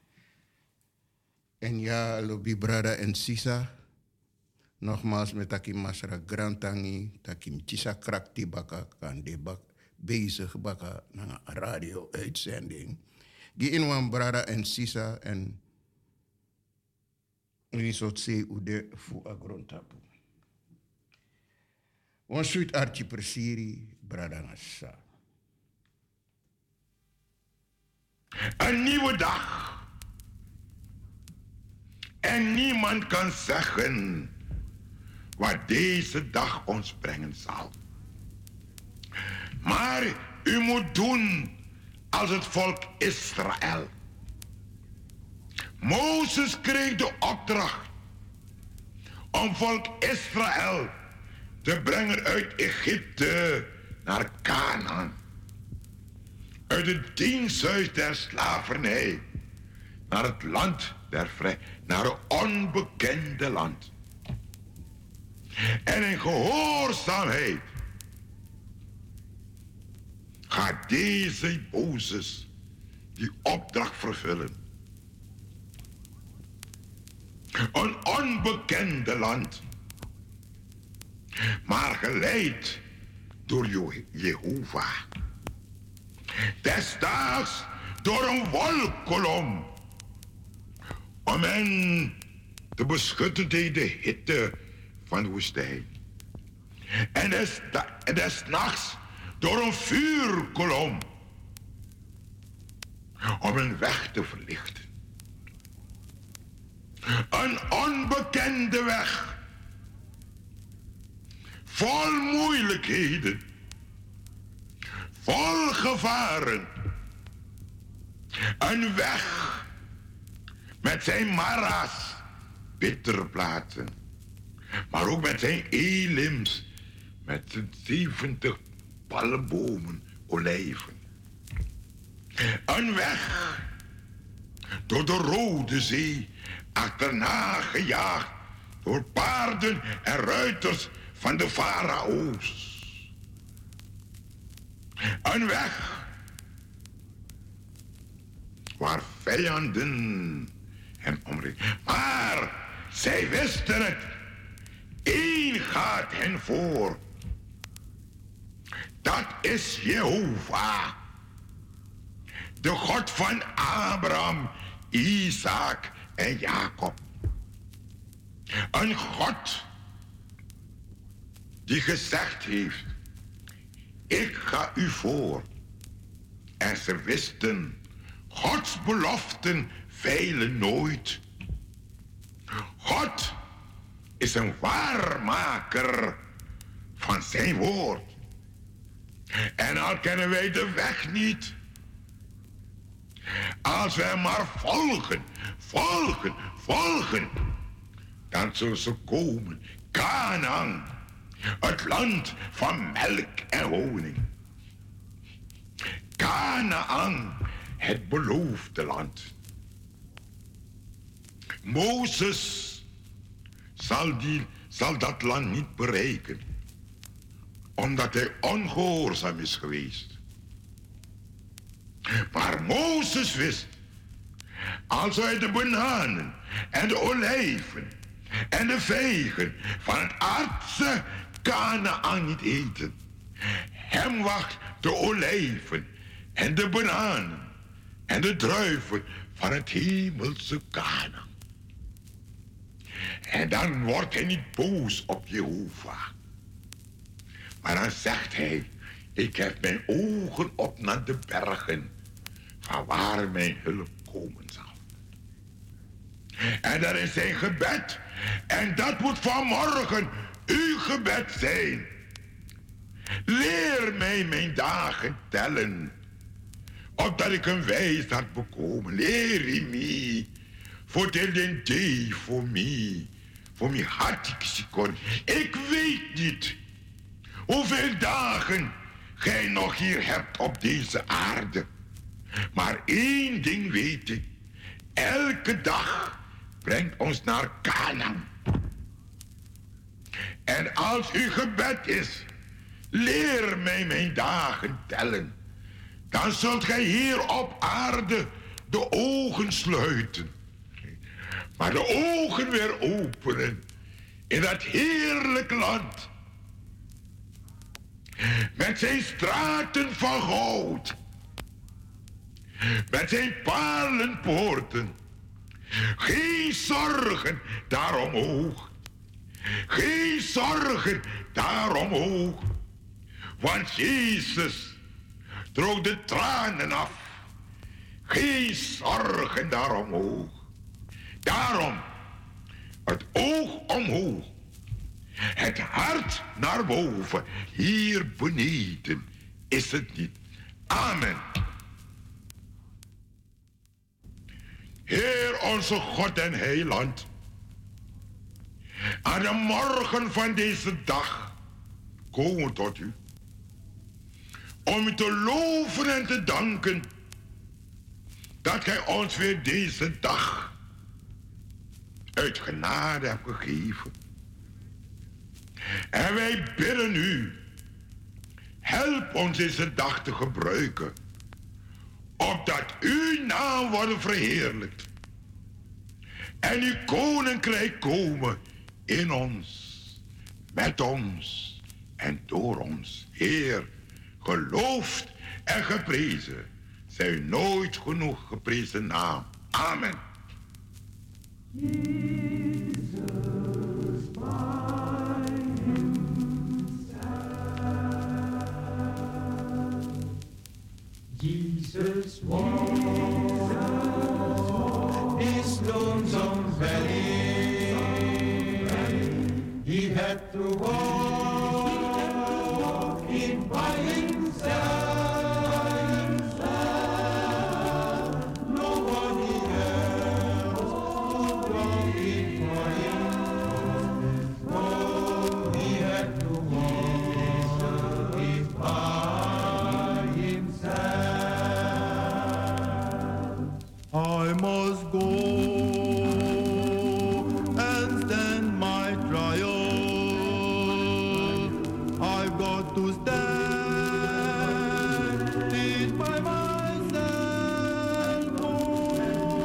En ja, lobi brada en sisa. Nogmaals met takim masra grantangi, takim tisa krakti baka kan de bak bezig baka na radio-uitzending. Gi inwan brada en sisa en risot se ude fu agrontapu. Wan suit archi persiri brada nasa. Een nieuwe dag. En niemand kan zeggen wat deze dag ons brengen zal. Maar u moet doen als het volk Israël. Mozes kreeg de opdracht om volk Israël te brengen uit Egypte naar Canaan. Uit het diensthuis der slavernij naar het land der vrij, naar een onbekende land. En in gehoorzaamheid gaat deze Mozes die opdracht vervullen. Een onbekende land, maar geleid door Jehovah. Desdaags door een wolkkolom, om hen te beschutten tegen de hitte van de woestijn. En des nachts door een vuurkolom, om een weg te verlichten. Een onbekende weg, vol moeilijkheden, vol gevaren. Een weg met zijn mara's, bittere platen, maar ook met zijn elims, met zijn 70 palmbomen, olijven. Een weg door de Rode Zee, achterna gejaagd door paarden en ruiters van de farao's. Een weg waar vijanden hem omringen. Maar zij wisten het. Eén gaat hen voor. Dat is Jehovah. De God van Abraham, Isaac en Jacob. Een God die gezegd heeft: ik ga u voor. En ze wisten, Gods beloften feilen nooit. God is een waarmaker van zijn woord. En al kennen wij de weg niet, als wij maar volgen, dan zullen ze komen. Kanaan, het land van melk en honing. Kanaan, het beloofde land. Mozes zal dat land niet bereiken, omdat hij ongehoorzaam is geweest. Maar Mozes wist, als hij de bananen en de olijven en de vijgen van het aardse Kanaan niet eten, hem wacht de olijven en de bananen en de druiven van het hemelse Kanaan. En dan wordt hij niet boos op Jehovah. Maar dan zegt hij: ik heb mijn ogen op naar de bergen, van waar mijn hulp komen zal. En dat is zijn gebed. En dat moet vanmorgen uw gebed zijn. Leer mij mijn dagen tellen, opdat ik een wijsheid bekomen. Leer me, voor den day voor me. Voor mij had ik ze kon. Ik weet niet hoeveel dagen gij nog hier hebt op deze aarde. Maar één ding weet ik. Elke dag brengt ons naar Kanaan. En als uw gebed is: leer mij mijn dagen tellen, dan zult gij hier op aarde de ogen sluiten, maar de ogen weer openen in dat heerlijk land, met zijn straten van goud, met zijn palenpoorten. Geen zorgen daar omhoog, geen zorgen daar omhoog, want Jezus droog de tranen af. Geen zorgen daar omhoog. Daarom het oog omhoog, het hart naar boven. Hier beneden is het niet. Amen. Heer onze God en Heiland, aan de morgen van deze dag komen we tot u, om u te loven en te danken dat gij ons weer deze dag uit genade hebt gegeven. En wij bidden u, help ons deze dag te gebruiken, opdat uw naam wordt verheerlijkt en uw koninkrijk komen in ons, met ons en door ons. Heer, geloofd en geprezen zij uw nooit genoeg geprezen naam. Amen. Jesus walked this lonesome valley. He had to walk it by himself. Nobody else could walk it for him. Oh, he had to walk it by himself. I must go and stand my trial. I've got to stand it by myself. Oh,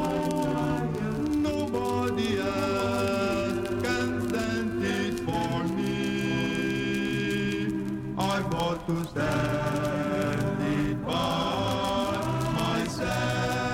nobody else can stand it for me. I've got to stand it by myself.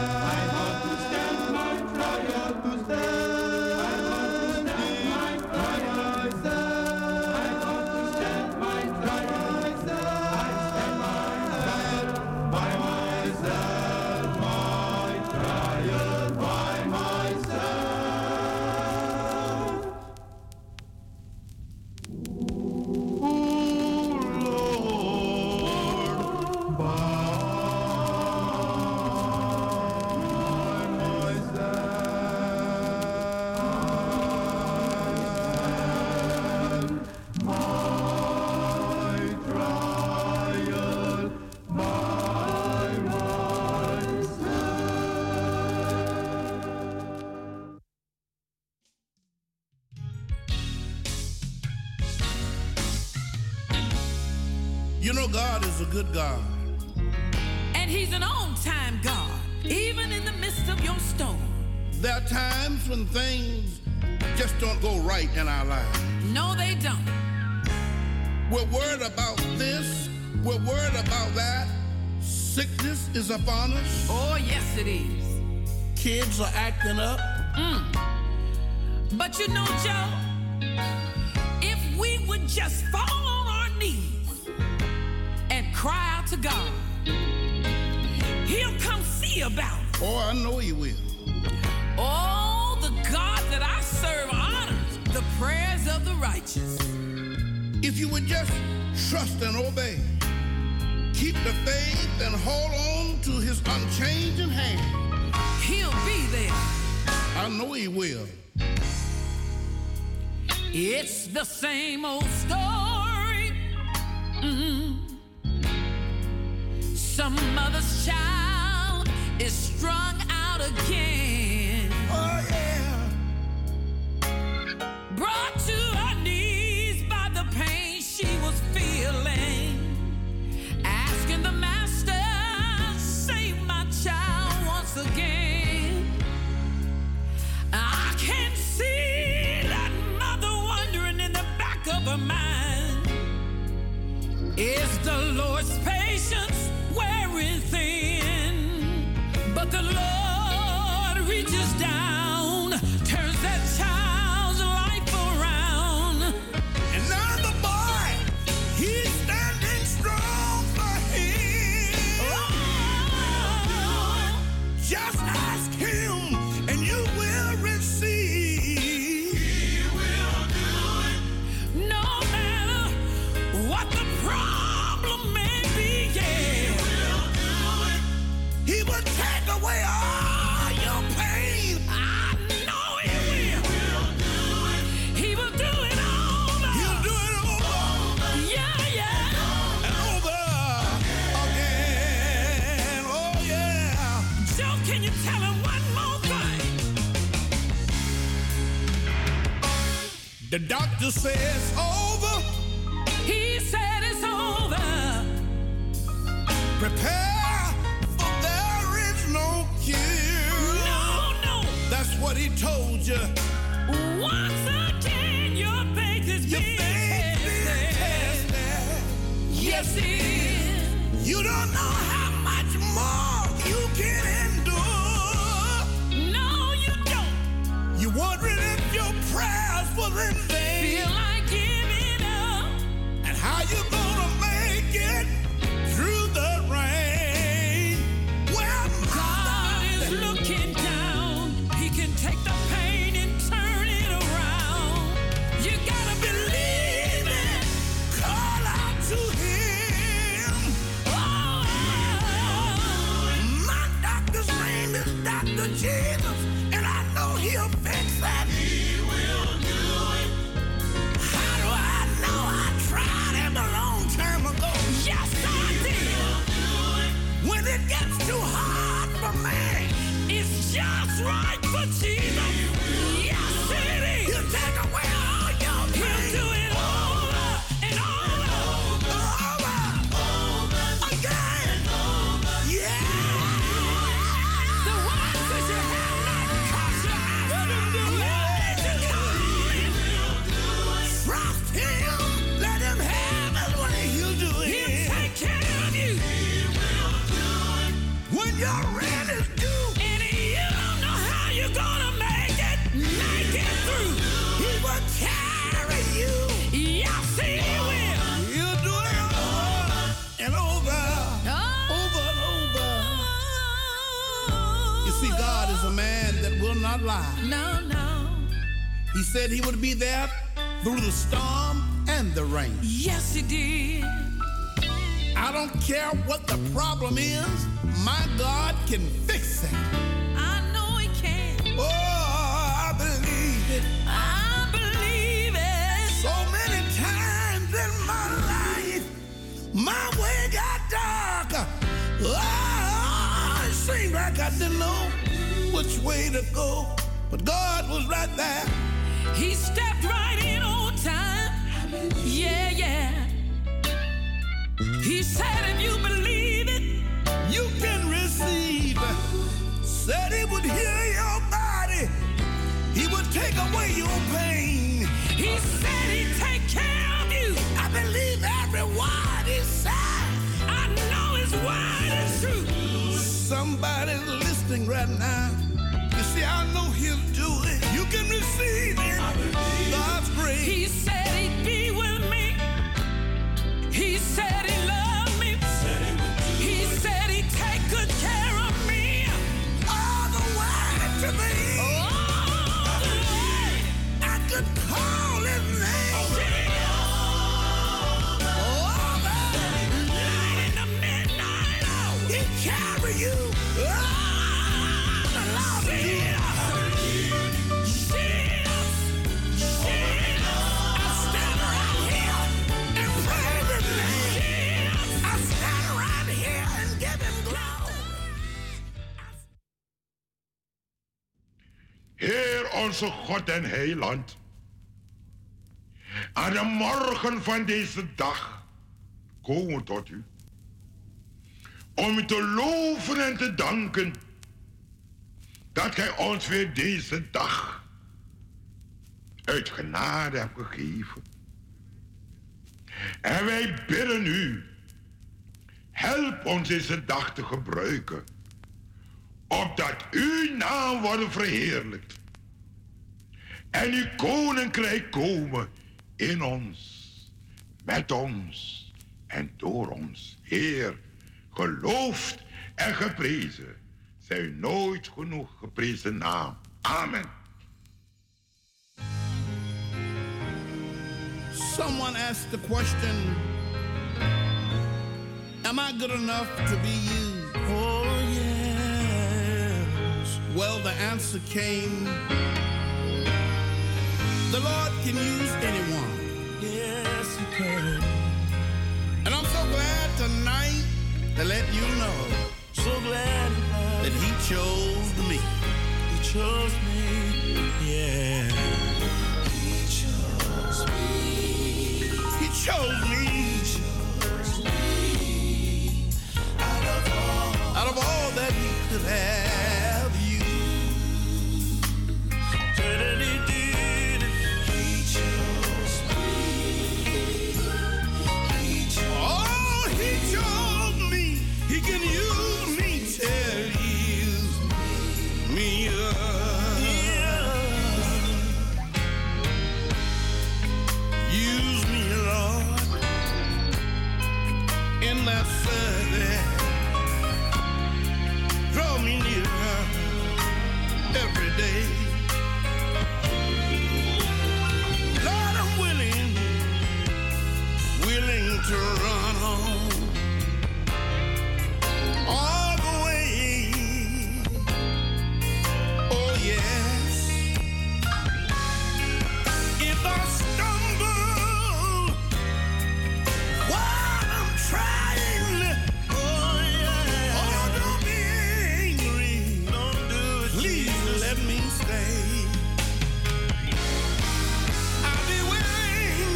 You know God is a good God. And he's an on-time God, even in the midst of your storm. There are times when things just don't go right in our lives. No, they don't. We're worried about this, we're worried about that. Sickness is upon us. Oh, yes, it is. Kids are acting up. But you know, Joe, if we would just fall on our knees and cry out to God, he'll come see about it. Oh, I know he will. Oh, the God that I serve honors the prayers of the righteous. If you would just trust and obey, keep the faith and hold on to his unchanging hand, he'll be there. I know he will. It's the same old story. Some mother's child is strung out again. Oh, yeah. Brought to her knees by the pain she was feeling. Asking the master, save my child once again. I can see that mother wondering in the back of her mind, is the Lord's patience wearing thin? But the Lord reaches down, turns that child's life around. And now the boy, he's standing strong for him. Oh, just ask him and you will receive. He will do it. no matter what the problem may be, yeah. He will take away all your pain. I The doctor says over. He said it's over. Prepare, for there is no cure. No, no. That's what he told you. Once again, your faith is being tested. Yes, it is. You don't know how much more you can endure. No, you don't. You're wondering if your prayers were in vain. Feel like giving up. And how you gonna make it through the rain? Well, God is looking down. He can take the pain and turn it around. You gotta believe it. Call out to him. Oh, my doctor's name is Dr. Jesus, and I know he'll fix that. He will do it. How do I know? I tried him a long time ago. yes, I did. When it gets too hard for me, It's just right for Jesus. Yes, it is. he'll take away all your He'll pain. do it over and over. Over again. Yeah. The one that you have not cast your eyes to let it come. Trust him. Let him have his way. He'll do it. He'll take care of you. When your rent is due, And you don't know how you're gonna make it through. he will carry you. Yes, he will. He'll do it over and over. Over and over. You see, God is a man that will not lie. No, no. He said he would be there through the storm and the rain. Yes, he did. I don't care what the problem is, my God can fix it. I know he can. Oh, I believe it. I believe it. So many times in my life, my way got darker. Oh, it seemed like I didn't know which way to go. But God was right there. He stepped right in on time. Yeah, yeah. He said if you believe it, You can receive. Said he would heal your body. He would take away your pain. he said he'd take care of you. I believe every word he said. I know his word is true. Somebody's listening right now. You see, I know he'll do it. You can receive it. God's grace. He said he'd be with me. He said he loved me. He said he'd take good care of me. All the way to me. All the way. I could call his name. Light in the midnight hour. He carry you. I stand right here and praise his name. I stand right here and give him glory. Heer onze God en Heiland, aan de morgen van deze dag komen we tot u. Om u te loven en te danken dat gij ons weer deze dag uit genade hebt gegeven. En wij bidden u, help ons deze dag te gebruiken, opdat uw naam wordt verheerlijkt en uw koninkrijk komen in ons, met ons en door ons. Heer, geloofd en geprezen zij uw nooit genoeg geprezen naam. Amen. Someone asked the question, am I good enough to be used? Oh, yes. Well, the answer came, the Lord can use anyone. Yes, he can. And I'm so glad tonight to let you know, so glad that he chose me. He chose me, yeah. He chose He chose me. Out of all that he could have used. Said he did it. He chose me. Oh, he chose me. He can use me till he use me up. Use me, Lord, in that service. Draw me nearer every day. Lord, I'm willing to run on all the way. Oh yes. If I stumble while I'm trying, oh yeah. Oh, don't be angry. Don't do it. Please let me stay. I'll be willing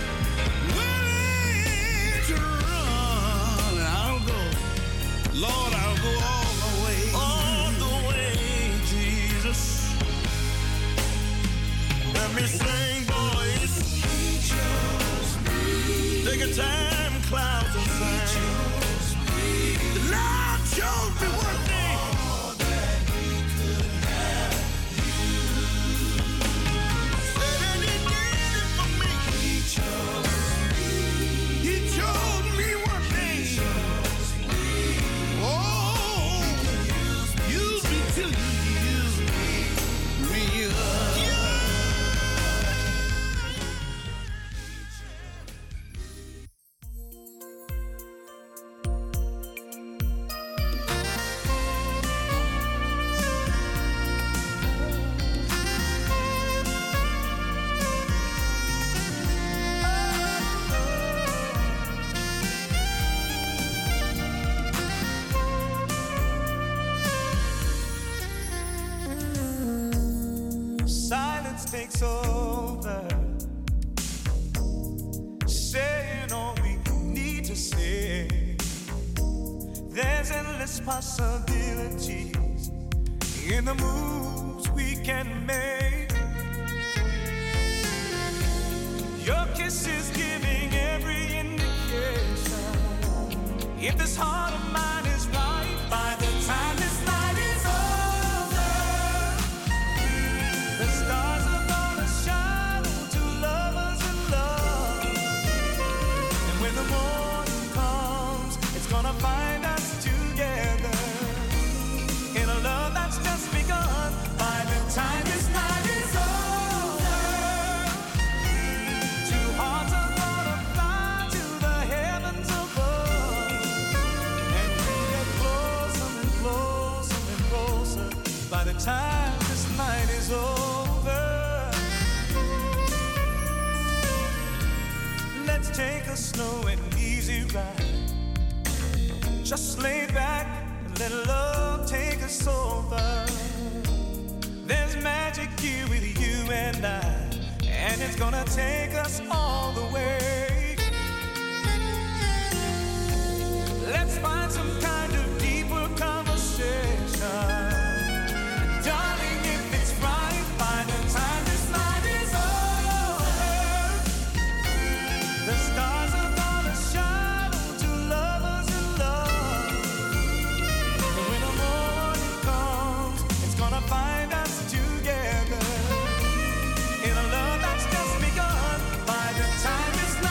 to run. I'll go. Lord, I'll go all the way. All the way, Jesus. Let me sing, boys. He chose me. Take a time, clouds and sing. The Lord chose me one day. All that he could have used. Said that he did it for me. He chose me. He chose me one day. He chose me. Oh, use me till you use me up. Silence takes over, saying all we need to say. There's endless possibilities in the moves we can make. Your kiss is giving every indication. If this heart of mine is right, by the time this night is over, the stars are gonna shine on two lovers in love. And when the morning comes, it's gonna find us together in a love that's just begun. By the time this night is over, two hearts are gonna fly to the heavens above. And we get closer and closer and closer by the time this night is over. Let's take a slow and easy ride. Just lay back and let love take us over. There's magic here with you and I, and it's gonna take us all the way. Let's find some kind of deeper conversation. Darling, if it's right, by the time this night is over, the stars are gonna shine on two lovers in love. And when the morning comes, it's gonna find us together in a love that's just begun. By the time this night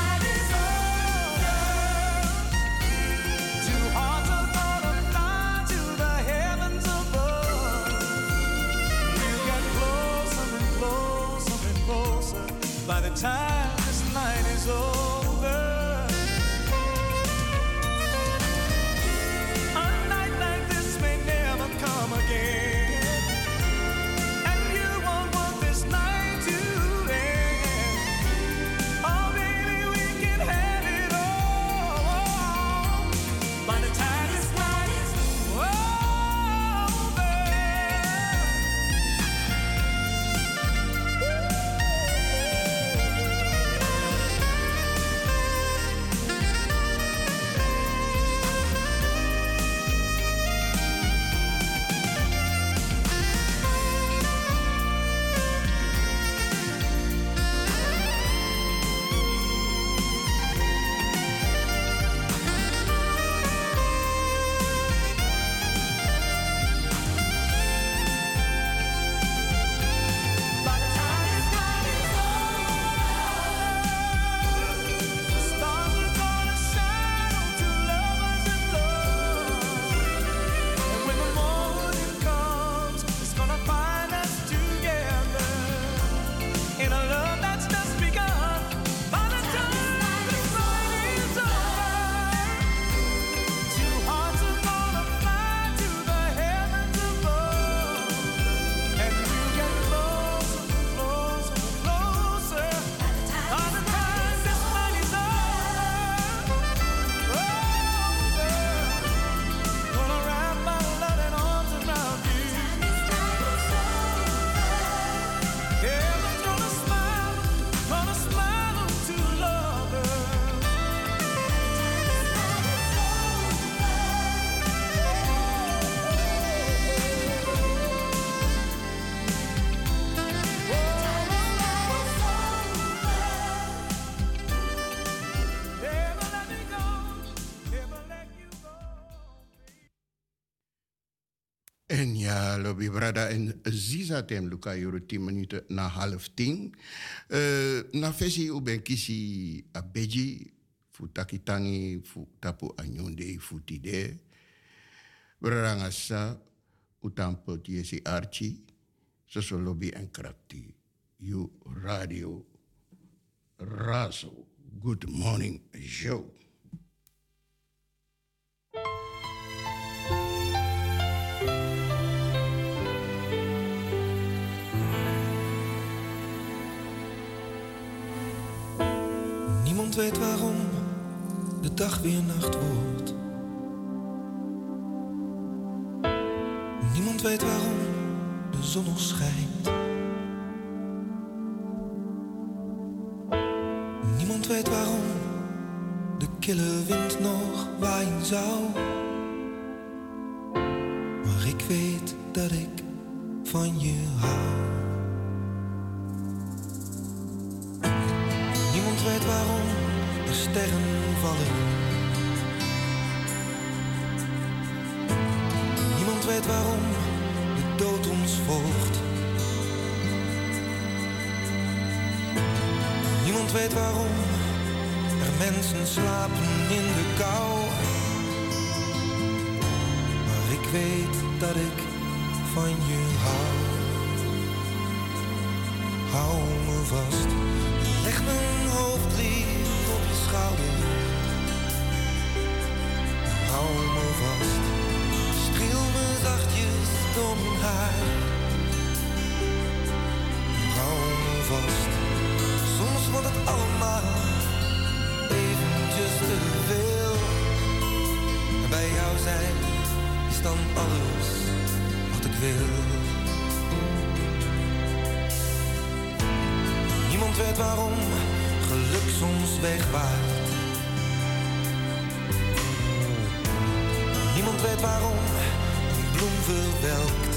Ja, lobby brada en Ziza tem Luca Euro 10 minuten na 9:30. Na versie u ben kisi abeji fu takitangi fu tapu anyonde fu tide. Brarangasa utampo tiesi archi so lobby en krakti. You radio Razo. Good morning show. Niemand weet waarom de dag weer nacht wordt. Niemand weet waarom de zon nog schijnt. Niemand weet waarom de kille wind nog waaien zou. Maar ik weet dat ik van je hou. Niemand weet waarom de sterren vallen. Niemand weet waarom de dood ons volgt. Niemand weet waarom er mensen slapen in de kou. Maar ik weet dat ik van je hou. Hou me vast. Leg mijn hoofd lief op je schouder. Hou me vast. Streel me zachtjes door mijn haar. Hou me vast. Soms wordt het allemaal eventjes te veel. En bij jou zijn is dan alles wat ik wil. Niemand weet waarom geluk soms wegwaait. Niemand weet waarom een bloem verwelkt.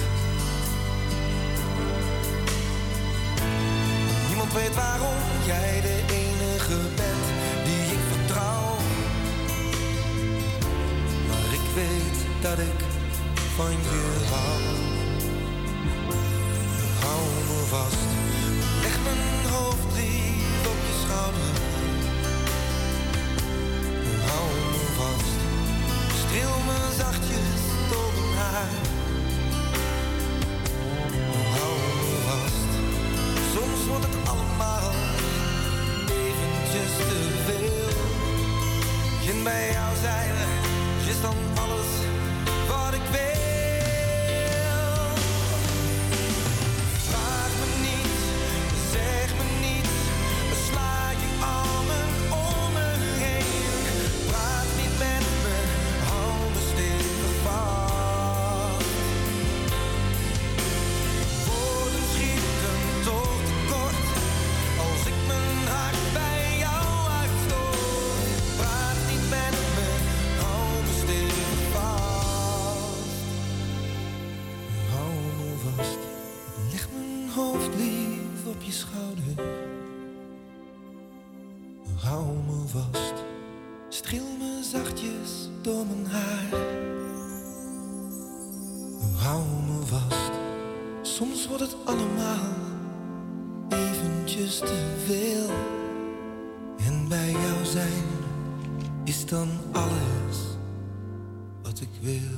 Niemand weet waarom jij de enige bent die ik vertrouw. Maar ik weet dat ik van je hou. Hou me vast. Leg mijn hoofd lief op je schouder. Hou me vast. Streel me zachtjes door mijn haar. Hou me vast. Soms wordt het allemaal eventjes te veel. En bij jou zijn is dan alles wat ik wil. Schouder. Hou me vast, streel me zachtjes door mijn haar. Hou me vast, soms wordt het allemaal eventjes te veel. En bij jou zijn is dan alles wat ik wil.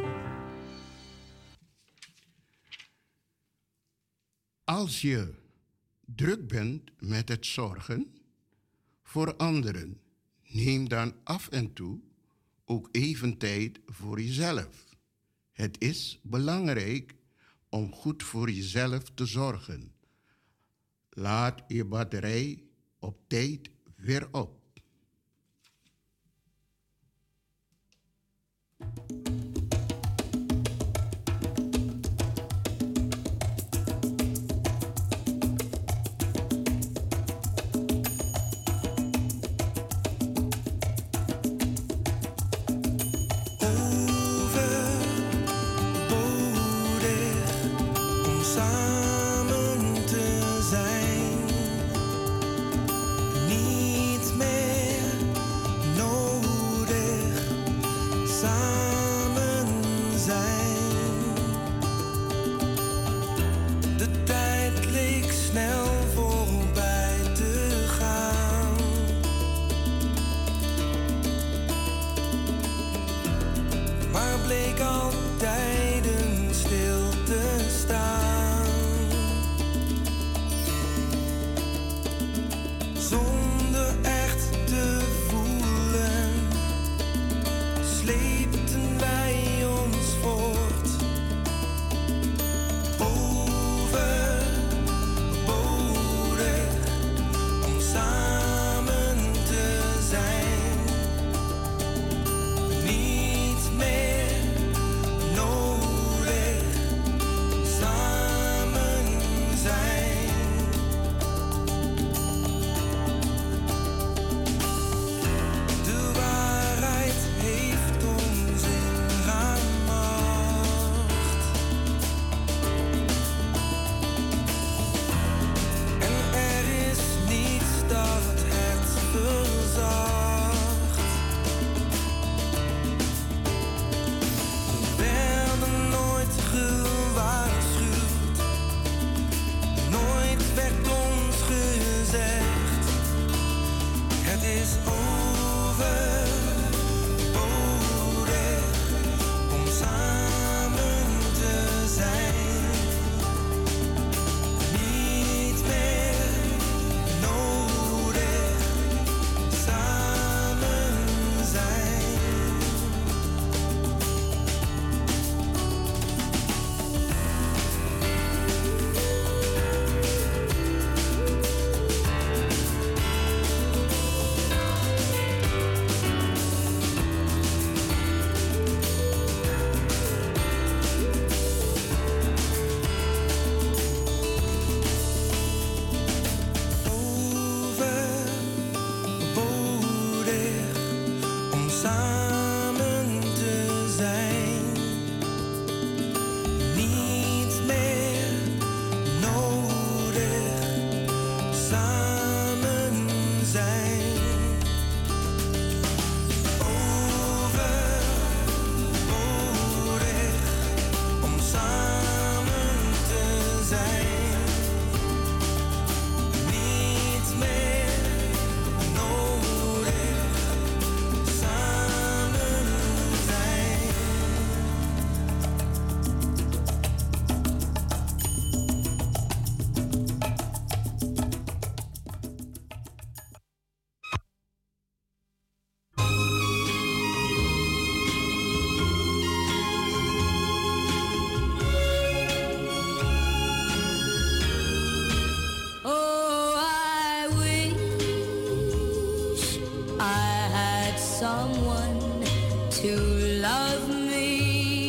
Als je druk bent met het zorgen voor anderen, neem dan af en toe ook even tijd voor jezelf. Het is belangrijk om goed voor jezelf te zorgen. Laat je batterij op tijd weer op. Samen te zijn, niet meer. bleek al tijden stil te staan. Zonder echt te voelen, sleepten wij ons voort. Overbodig om samen te zijn. Niet meer nodig samen zijn. De waarheid heeft ons ingemacht. En er is niets dat het verzacht. We werden nooit gewaarschuwd. Nooit werd ons gezegd: het is overbodig om samen te zijn. Niet meer nodig samen zijn. Overbodig om samen te zijn. Niet meer nodig samen zijn. Overbodig om samen te zijn. Niet meer nodig samen zijn. Oh, I wish I had someone to love me,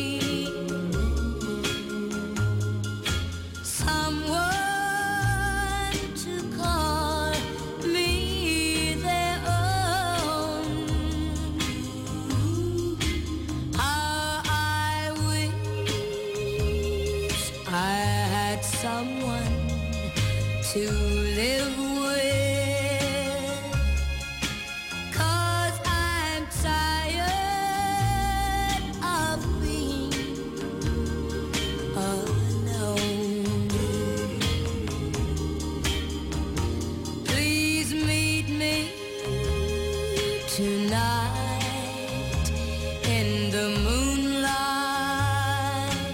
someone to call me their own. How I wish I had someone to live with, 'cause I'm tired of being alone. Please meet me tonight in the moonlight.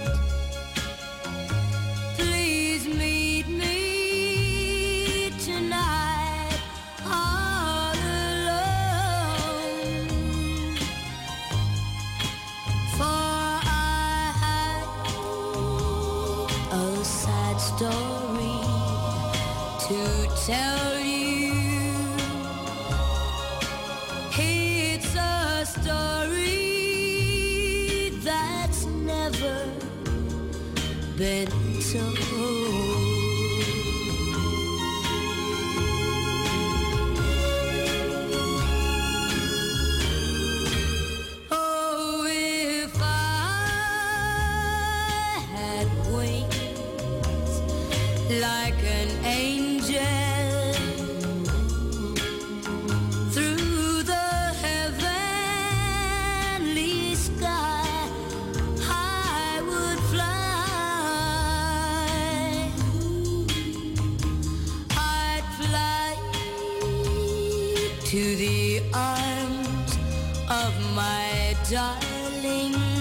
Please meet me tonight all alone. For I have a sad story to tell you. It's a story that's never been told. Oh, if I had wings like an angel, through the heavenly sky I would fly. I'd fly to the arms of my darling.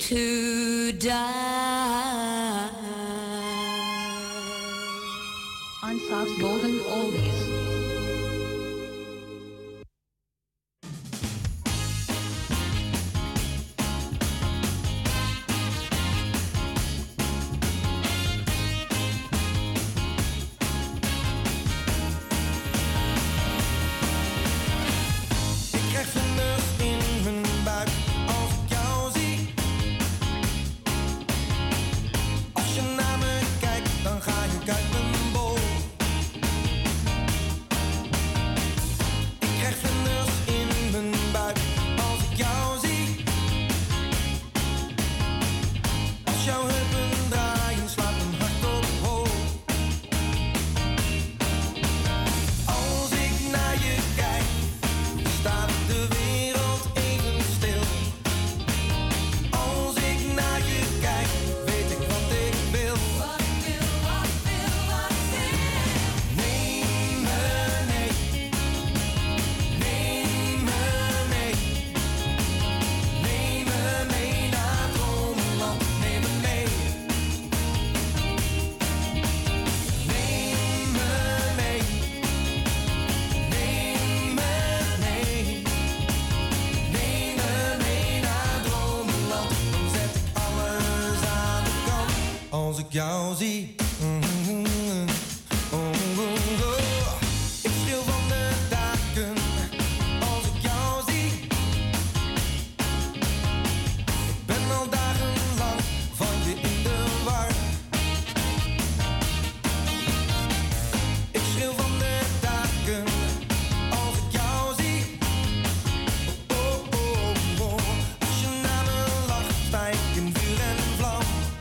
to die. Unsolved golden oldies. Ik krijg vlinders in mijn buik als ik jou zie. Als je naar me kijkt, dan ga ik uit mijn bol. Ik krijg vlinders in mijn buik als ik jou zie. Als jouw heupen draaien, slaat mijn hart op hol. Als ik naar je kijk, staat de wereld even stil. Als ik naar je kijk, weet ik wat ik wil. Wat ik wil, wat ik wil, wat ik wil. Neem me mee. Neem me mee. Neem me mee naar dromenland. Neem me mee. Neem me mee. Neem me mee. Neem me mee naar dromenland. Dan zet ik alles aan de kant als ik jou zie. Ik schreeuw van de daken als ik jou zie. Ik ben al dagenlang van je in de war. Ik schreeuw van de daken als ik jou zie. Oh, oh, oh. Als je naar me lacht, sta ik in vuur en vlam.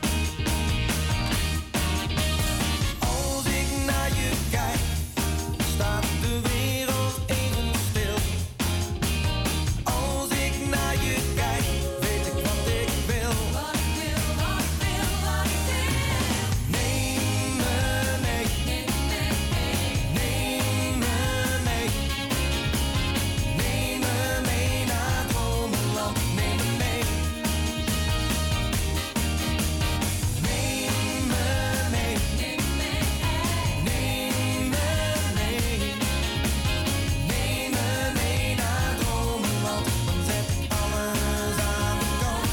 Als ik naar je kijk, staat de wereld even stil. Als ik naar je kijk, weet ik wat ik wil. Wat ik wil, wat ik wil, wat ik wil. Neem me mee. Neem me mee. Neem me mee. Neem me mee naar dromenland. Neem me mee. Neem me mee. Neem me mee. Neem me mee. Neem me mee naar dromenland. Dan zet ik alles aan de kant.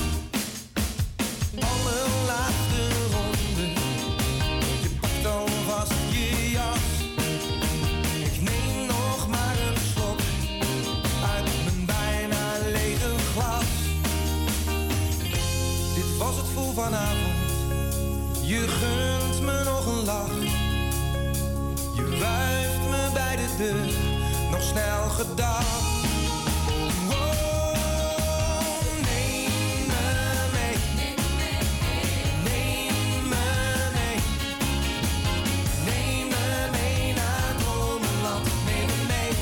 Allerlaatste ronde. Je pakt alvast je jas. Ik neem nog maar een slok uit mijn bijna lege glas. Dit was het voor vanavond. Je gunt me nog een lach. Je wuift me bij de deur. Nog snel gedag. Oh, neem me mee. Neem me mee. Neem me mee naar dromenland. Neem me mee.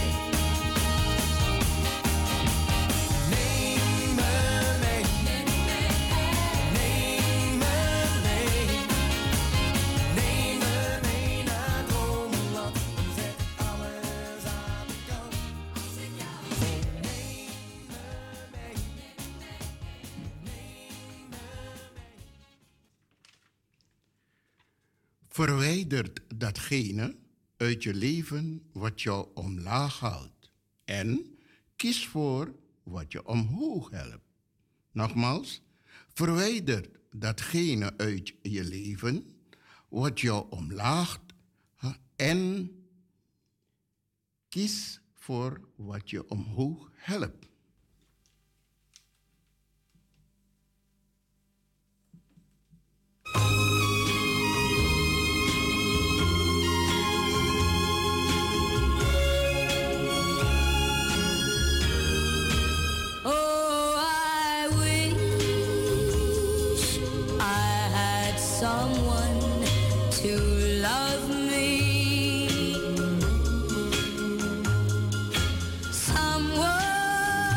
Neem me mee. Neem me mee. Neem me mee naar dromenland. Dan zet ik alles aan de kant. Als ik jou zie. Neem me mee. Verwijdert datgene uit je leven wat jou omlaag haalt. En kies voor wat je omhoog helpt. Nogmaals, verwijder datgene uit je leven wat jou omlaagt. En kies voor wat je omhoog helpt. Oh, I wish I had someone to love me. Someone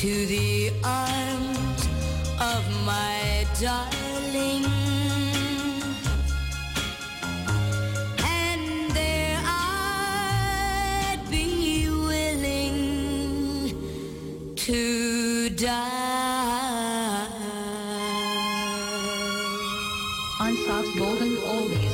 to the arms of my darling. And there I'd be willing to die. Unsolved Golden Oldies.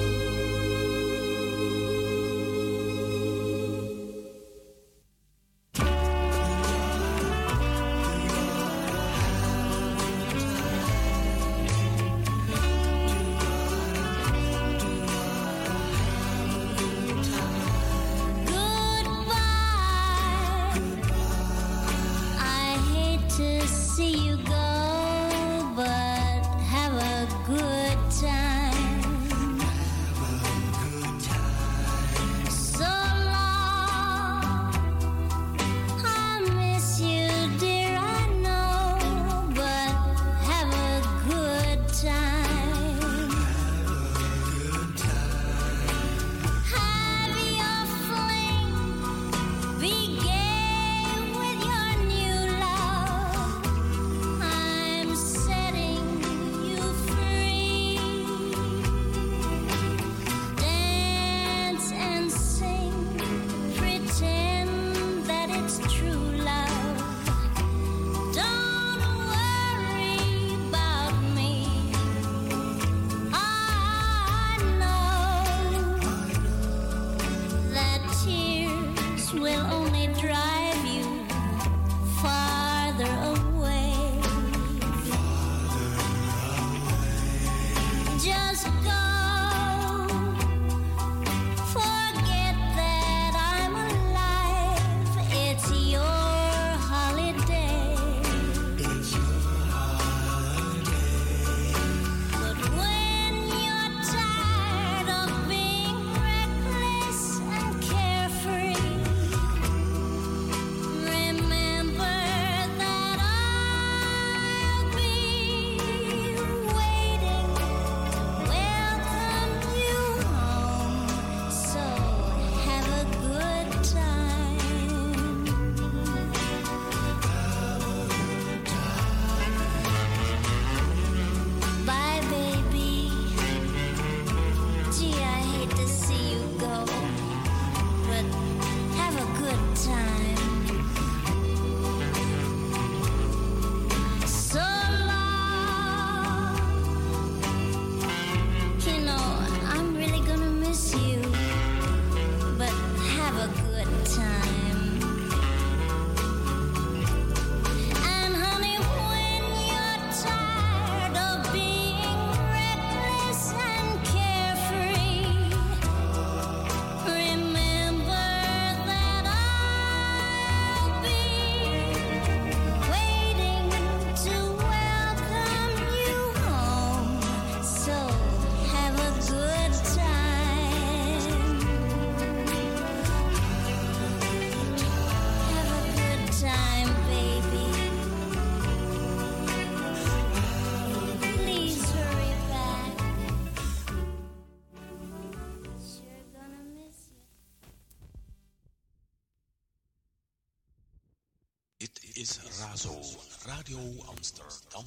Radio Amsterdam.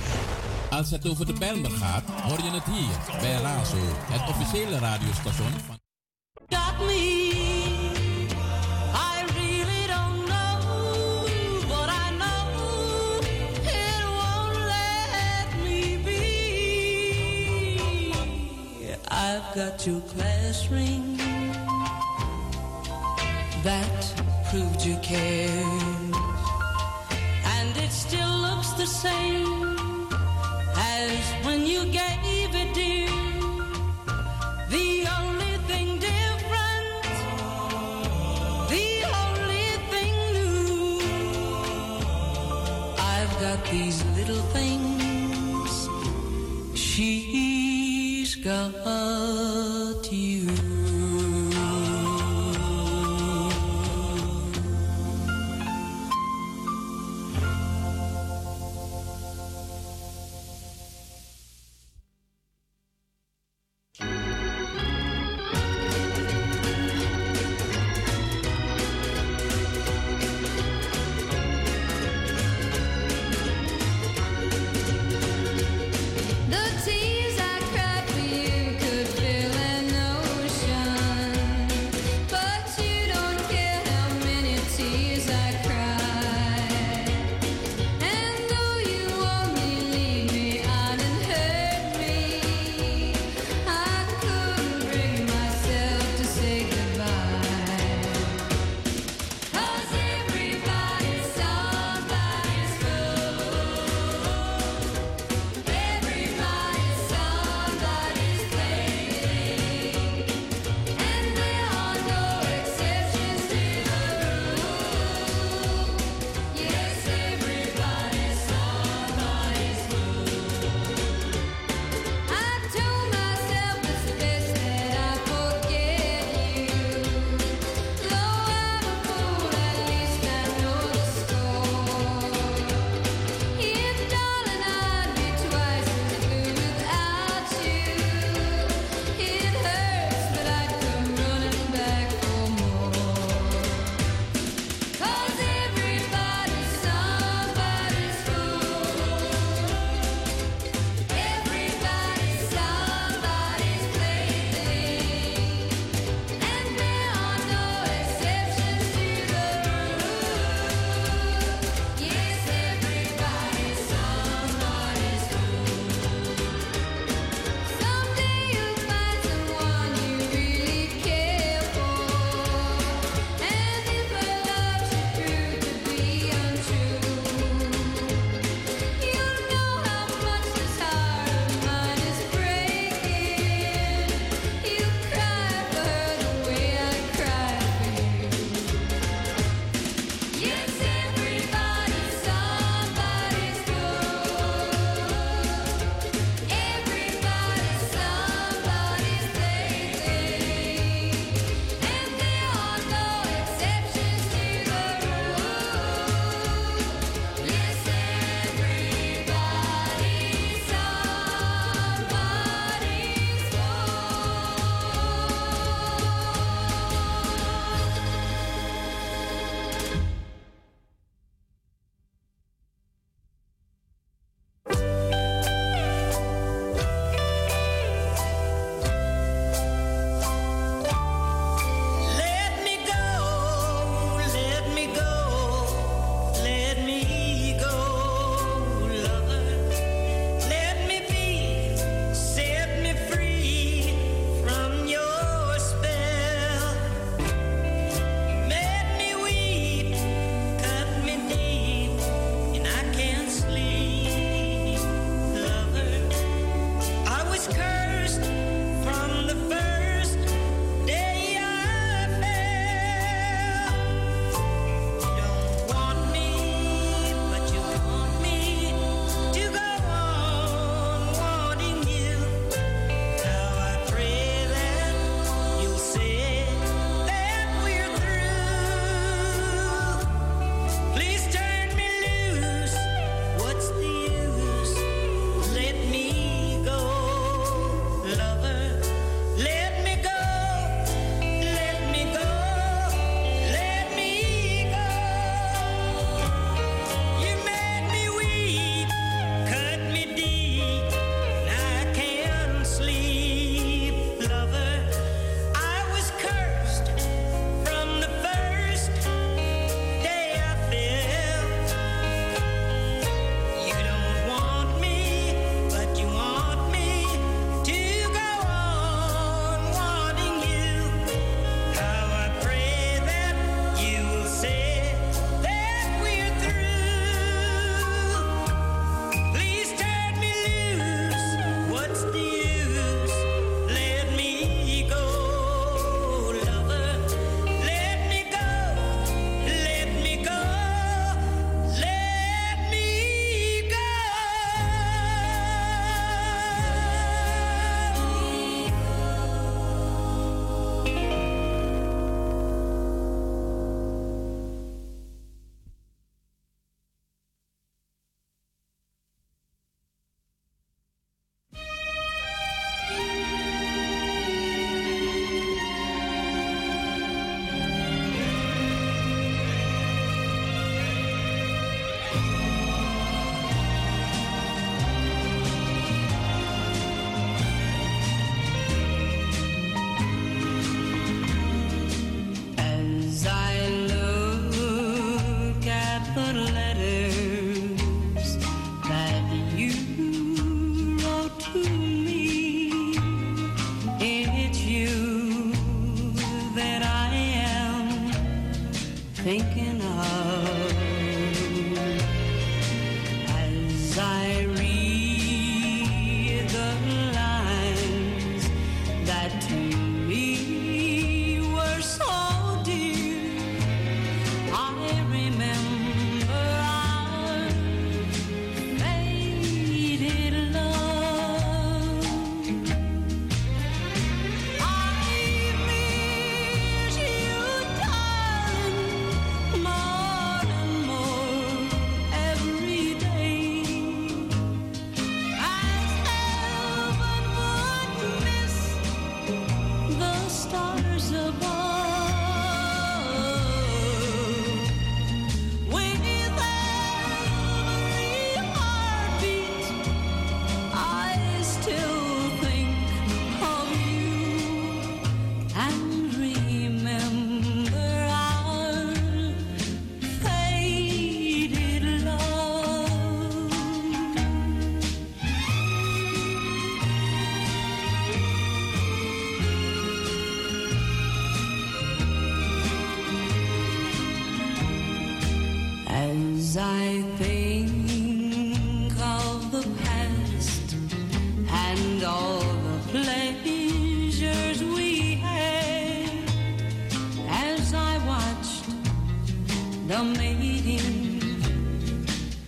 Als het over de Bijlmer gaat, hoor je het hier bij Razo, het officiële radiostation van... Got me. I really don't know, but I know it won't let me be. I've got your class ring that proved you care. It still looks the same as when you gave it, dear. The only thing different, the only thing new, I've got these little things, she's got you.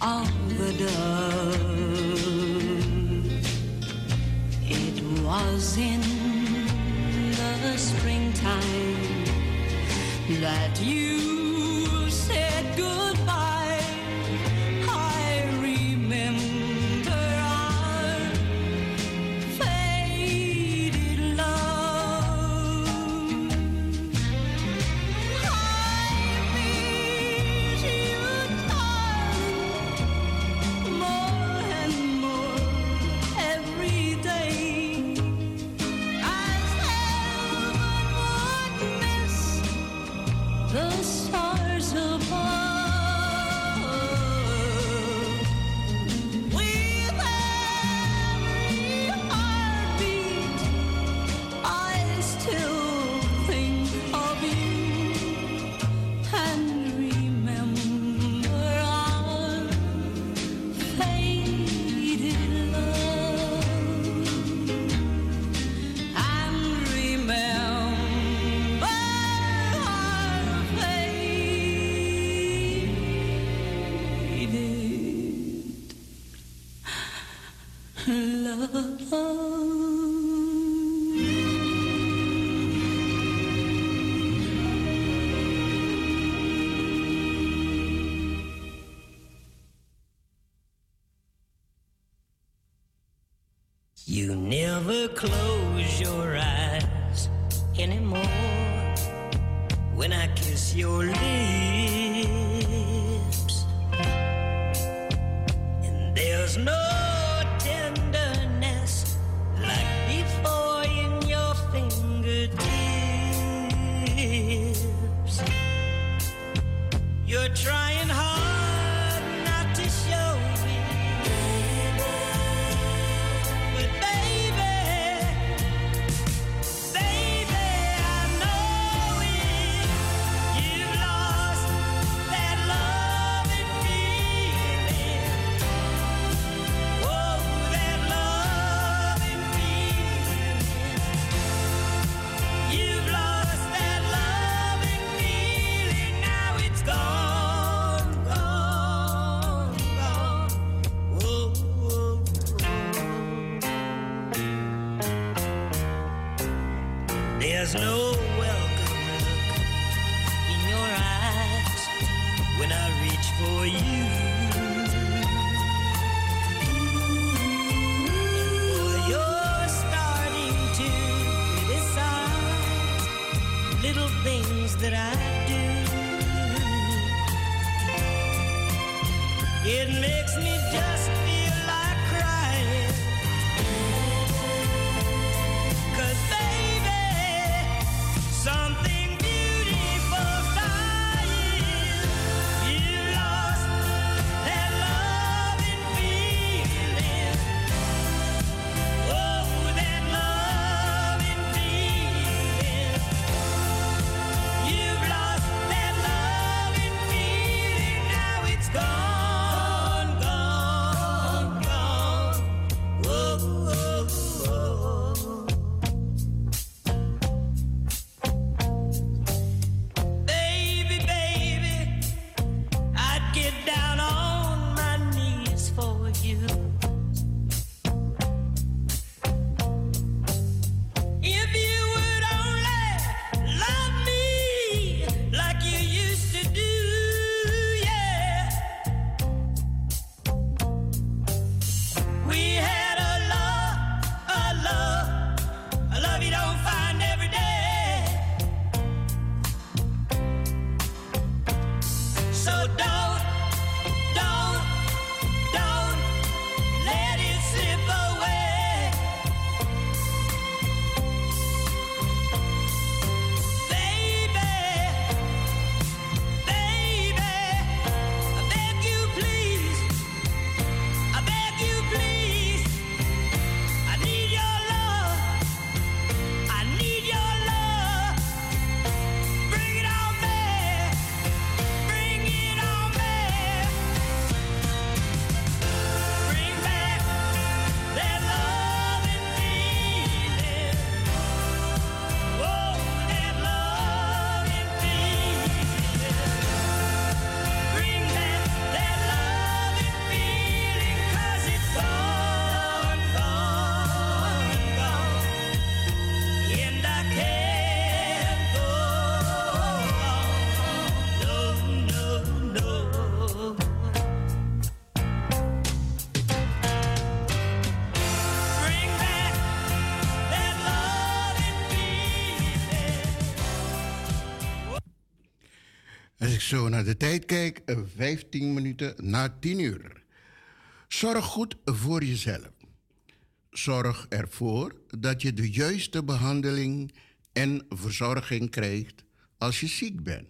of the dove. It was in the springtime that you said goodbye. I remember our faded love. I miss you, darling, more and more every day. As heaven would miss the stars above. With every heartbeat, I still think of you and remember our faded love. And remember our faded love. You never close your eyes anymore when I kiss your lips, and there's no tenderness like before in your fingertips. You're trying hard not to show me, but baby, I know it. You've lost that love and feeling. Oh, that love and feeling. You've lost that love and feeling. Now it's gone, gone, gone. Oh, oh, there's no welcome look in your eyes when I reach for you. Boy, you're starting to criticize little things that I do. It makes me just feel like crying. 'Cause baby, something beautiful's dying. You lost that love and feeling. Oh, that love and feeling. You've lost that love and feeling. Now it's gone, gone, Als ik zo naar de tijd kijk, 15 minuten na 10 uur. Zorg goed voor jezelf. Zorg ervoor dat je de juiste behandeling en verzorging krijgt als je ziek bent.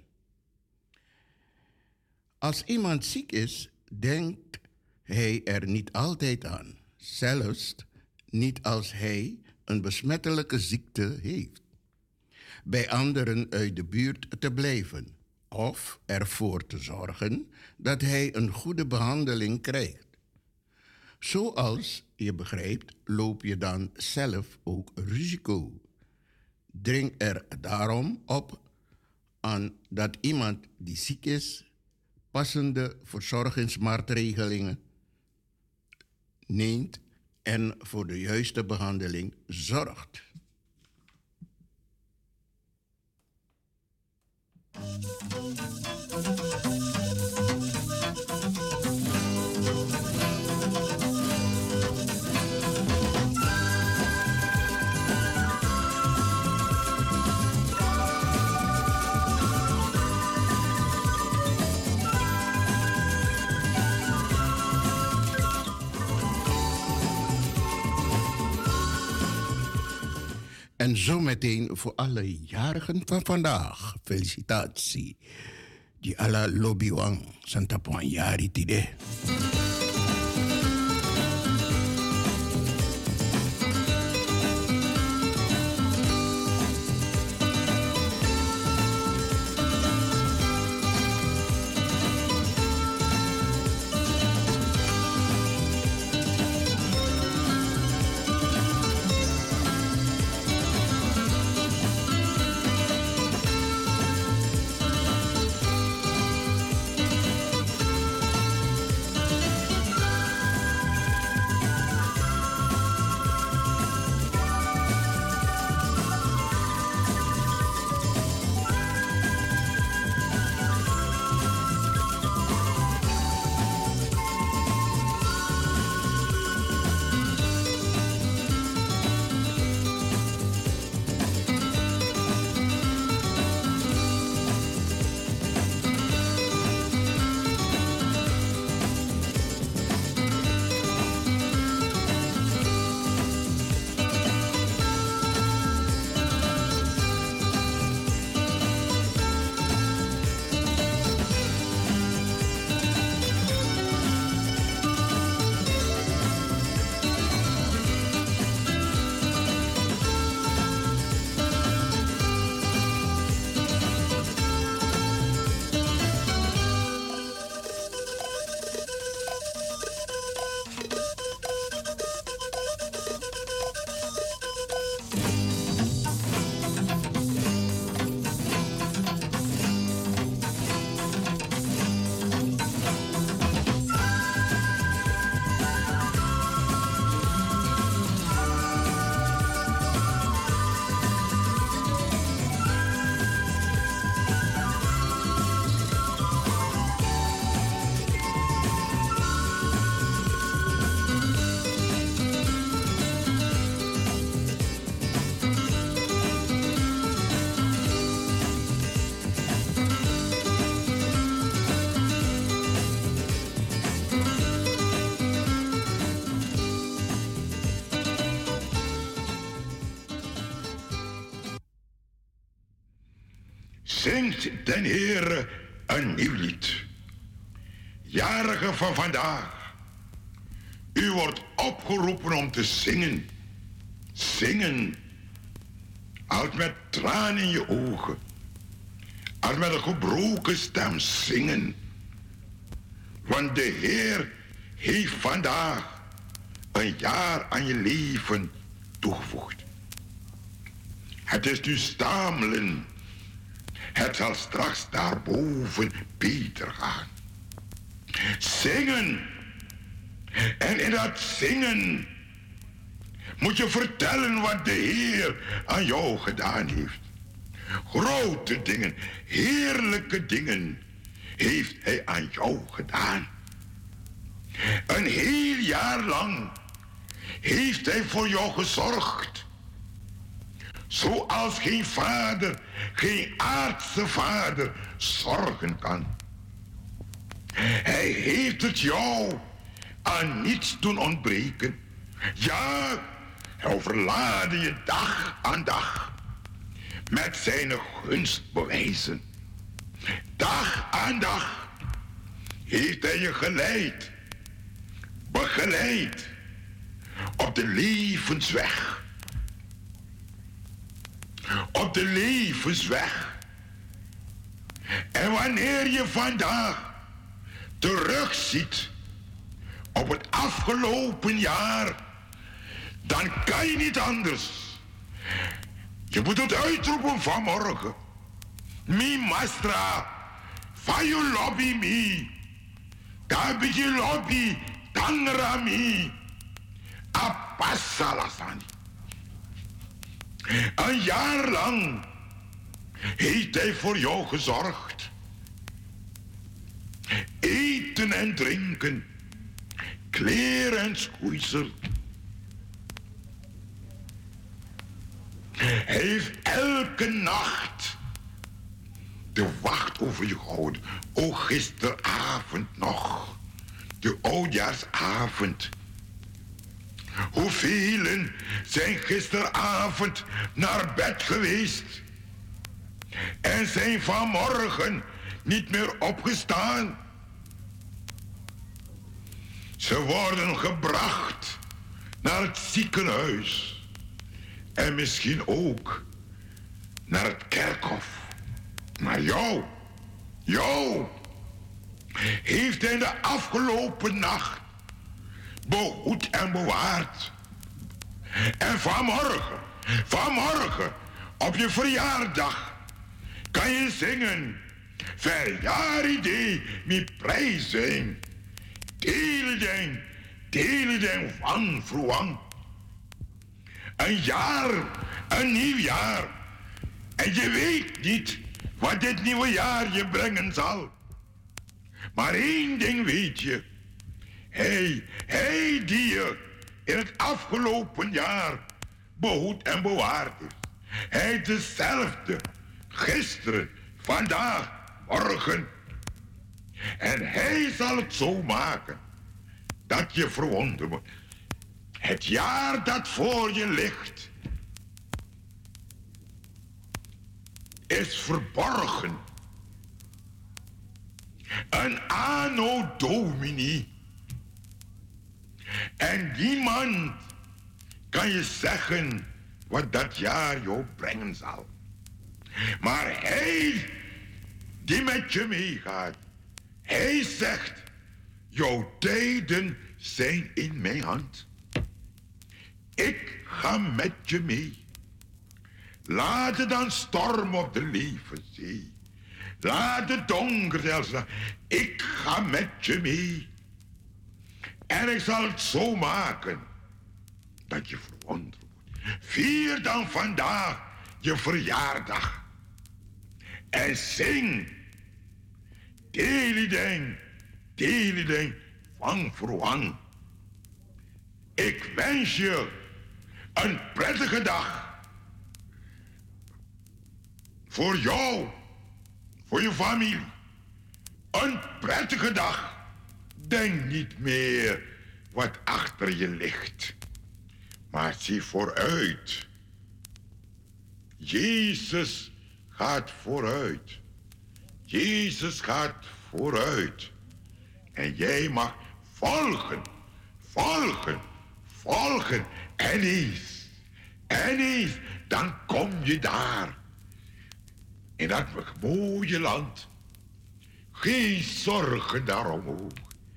Als iemand ziek is, denkt hij er niet altijd aan. Zelfs niet als hij een besmettelijke ziekte heeft. Bij anderen uit de buurt te blijven of ervoor te zorgen dat hij een goede behandeling krijgt. Zoals je begrijpt, loop je dan zelf ook risico. Dring er daarom op aan dat iemand die ziek is passende verzorgingsmaatregelingen neemt en voor de juiste behandeling zorgt. En zometeen voor alle jarigen van vandaag. Felicitatie. Die alla lobiwang Santa Poanyari tide. Zingt den Heere een nieuw lied. Jarigen van vandaag, u wordt opgeroepen om te zingen. Zingen, als met tranen in je ogen, als met een gebroken stem zingen. Want de Heer heeft vandaag een jaar aan je leven toegevoegd. Het is nu stamelen. Het zal straks daarboven beter gaan. Zingen. En in dat zingen moet je vertellen wat de Heer aan jou gedaan heeft. Grote dingen, heerlijke dingen heeft Hij aan jou gedaan. Een heel jaar lang heeft Hij voor jou gezorgd. Zoals geen vader, geen aardse vader zorgen kan. Hij heeft het jou aan niets doen ontbreken. Ja, hij overlaadde je dag aan dag met zijn gunstbewijzen. Dag aan dag heeft hij je geleid, begeleid op de levensweg. Op de levensweg. En wanneer je vandaag terugziet op het afgelopen jaar, dan kan je niet anders. Je moet het uitroepen vanmorgen. Mi mastra, van je lobby mi. Daar ben je lobby, tangra mi. Apassalasani. Een jaar lang heeft hij voor jou gezorgd. Eten en drinken, kleren en schoeisel. Hij heeft elke nacht de wacht over je gehouden. O, gisteravond nog, de oudjaarsavond. Hoeveel zijn gisteravond naar bed geweest en zijn vanmorgen niet meer opgestaan. Ze worden gebracht naar het ziekenhuis en misschien ook naar het kerkhof. Maar jou heeft hij de afgelopen nacht behoed en bewaard. En vanmorgen, op je verjaardag, kan je zingen. Verjaardag, mi prijzen. Teleden van vroeg. Een nieuw jaar. En je weet niet wat dit nieuwe jaar je brengen zal. Maar één ding weet je. Hij die je in het afgelopen jaar behoed en bewaard is. Hij is dezelfde, gisteren, vandaag, morgen. En hij zal het zo maken dat je verwonderd wordt. Het jaar dat voor je ligt is verborgen. Een anno domini. En niemand kan je zeggen wat dat jaar jou brengen zal. Maar hij die met je meegaat, hij zegt, jouw tijden zijn in mijn hand. Ik ga met je mee. Laat het dan stormen op de levenszee. Laat het donker zelfs. Ik ga met je mee. En ik zal het zo maken dat je verwonderd wordt. Vier dan vandaag je verjaardag. En zing. Telideng, van verwang. Ik wens je een prettige dag. Voor jou, voor je familie. Een prettige dag. Denk niet meer wat achter je ligt. Maar zie vooruit. Jezus gaat vooruit. Jezus gaat vooruit. En jij mag volgen. En eens, dan kom je daar. In dat mooie land. Geen zorgen daarom.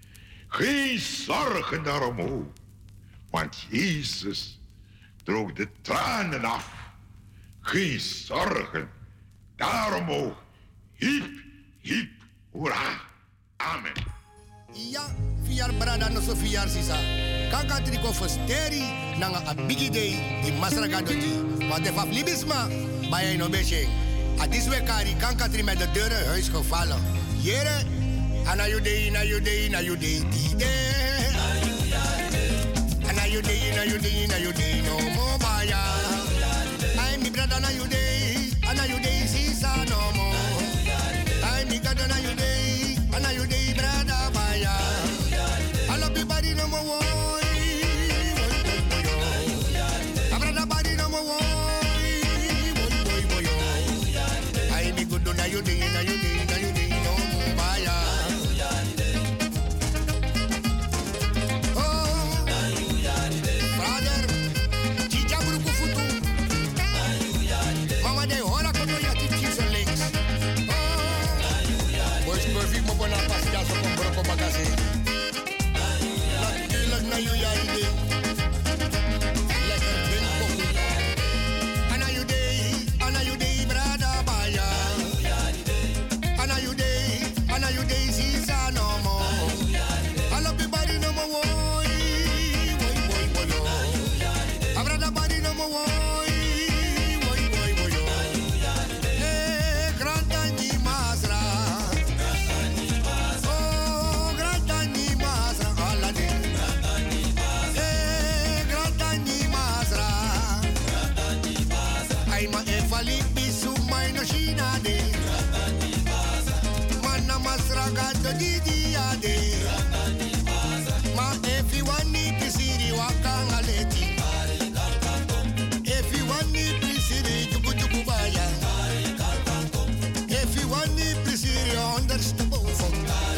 Want Jezus droog de tranen af. Geen zorgen daarom ook. Hip, hoera. Amen. Ja, vier brada no so vier sisa. Kaka triko fosteri nanga a bigi day di masraga doji. Maar de faf libisma, bij no beche. A this week kari kanka tri met de deuren huis gevallen. Jere, ana you day, die day. Ana you day, no more baya. Ay mi brada Ana you day, sisa no more. I me got ana you day, brother baya. I love you body no more. I brother body no more. I me good na you day, no more baya. Oh, brother, chicha bruku futu. Mama de hola kono ya chichi so links. Oh, boys perfect mo bona pasta so con broco magazine. Lag na you ya ide. Lekker bin koku. Ana you day, brada baya. Ana you day, sisa no more. I love you body no more. I brada body no more. Ragazzo di diade, ma if you want me to see the wakanga leti, if you want me to see the tukubaya, if you want me to see the understandable from.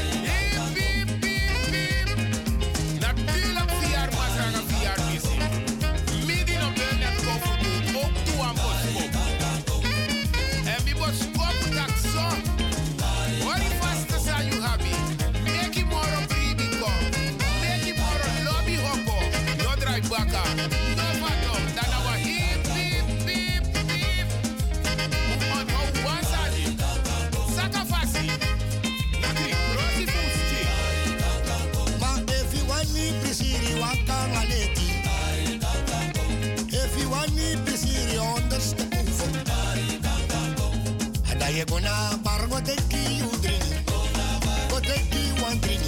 Natuurlijk vier masraga vier missing. Midden op de net koffie ook toe aan boskop. En wie boskop dat zo. What if faster say you happy? Make it more of breathing come. Make it more of lobby hoppo. No drive back up. No bottom. Then our hip, hip, hip, hip. On one side. Sakafasi. Nakri, roti fusti. Ma if you want me to see the wakanga leti, if you want me to see the understandable from. And I gonna bar go take you drink. Go take you one drink.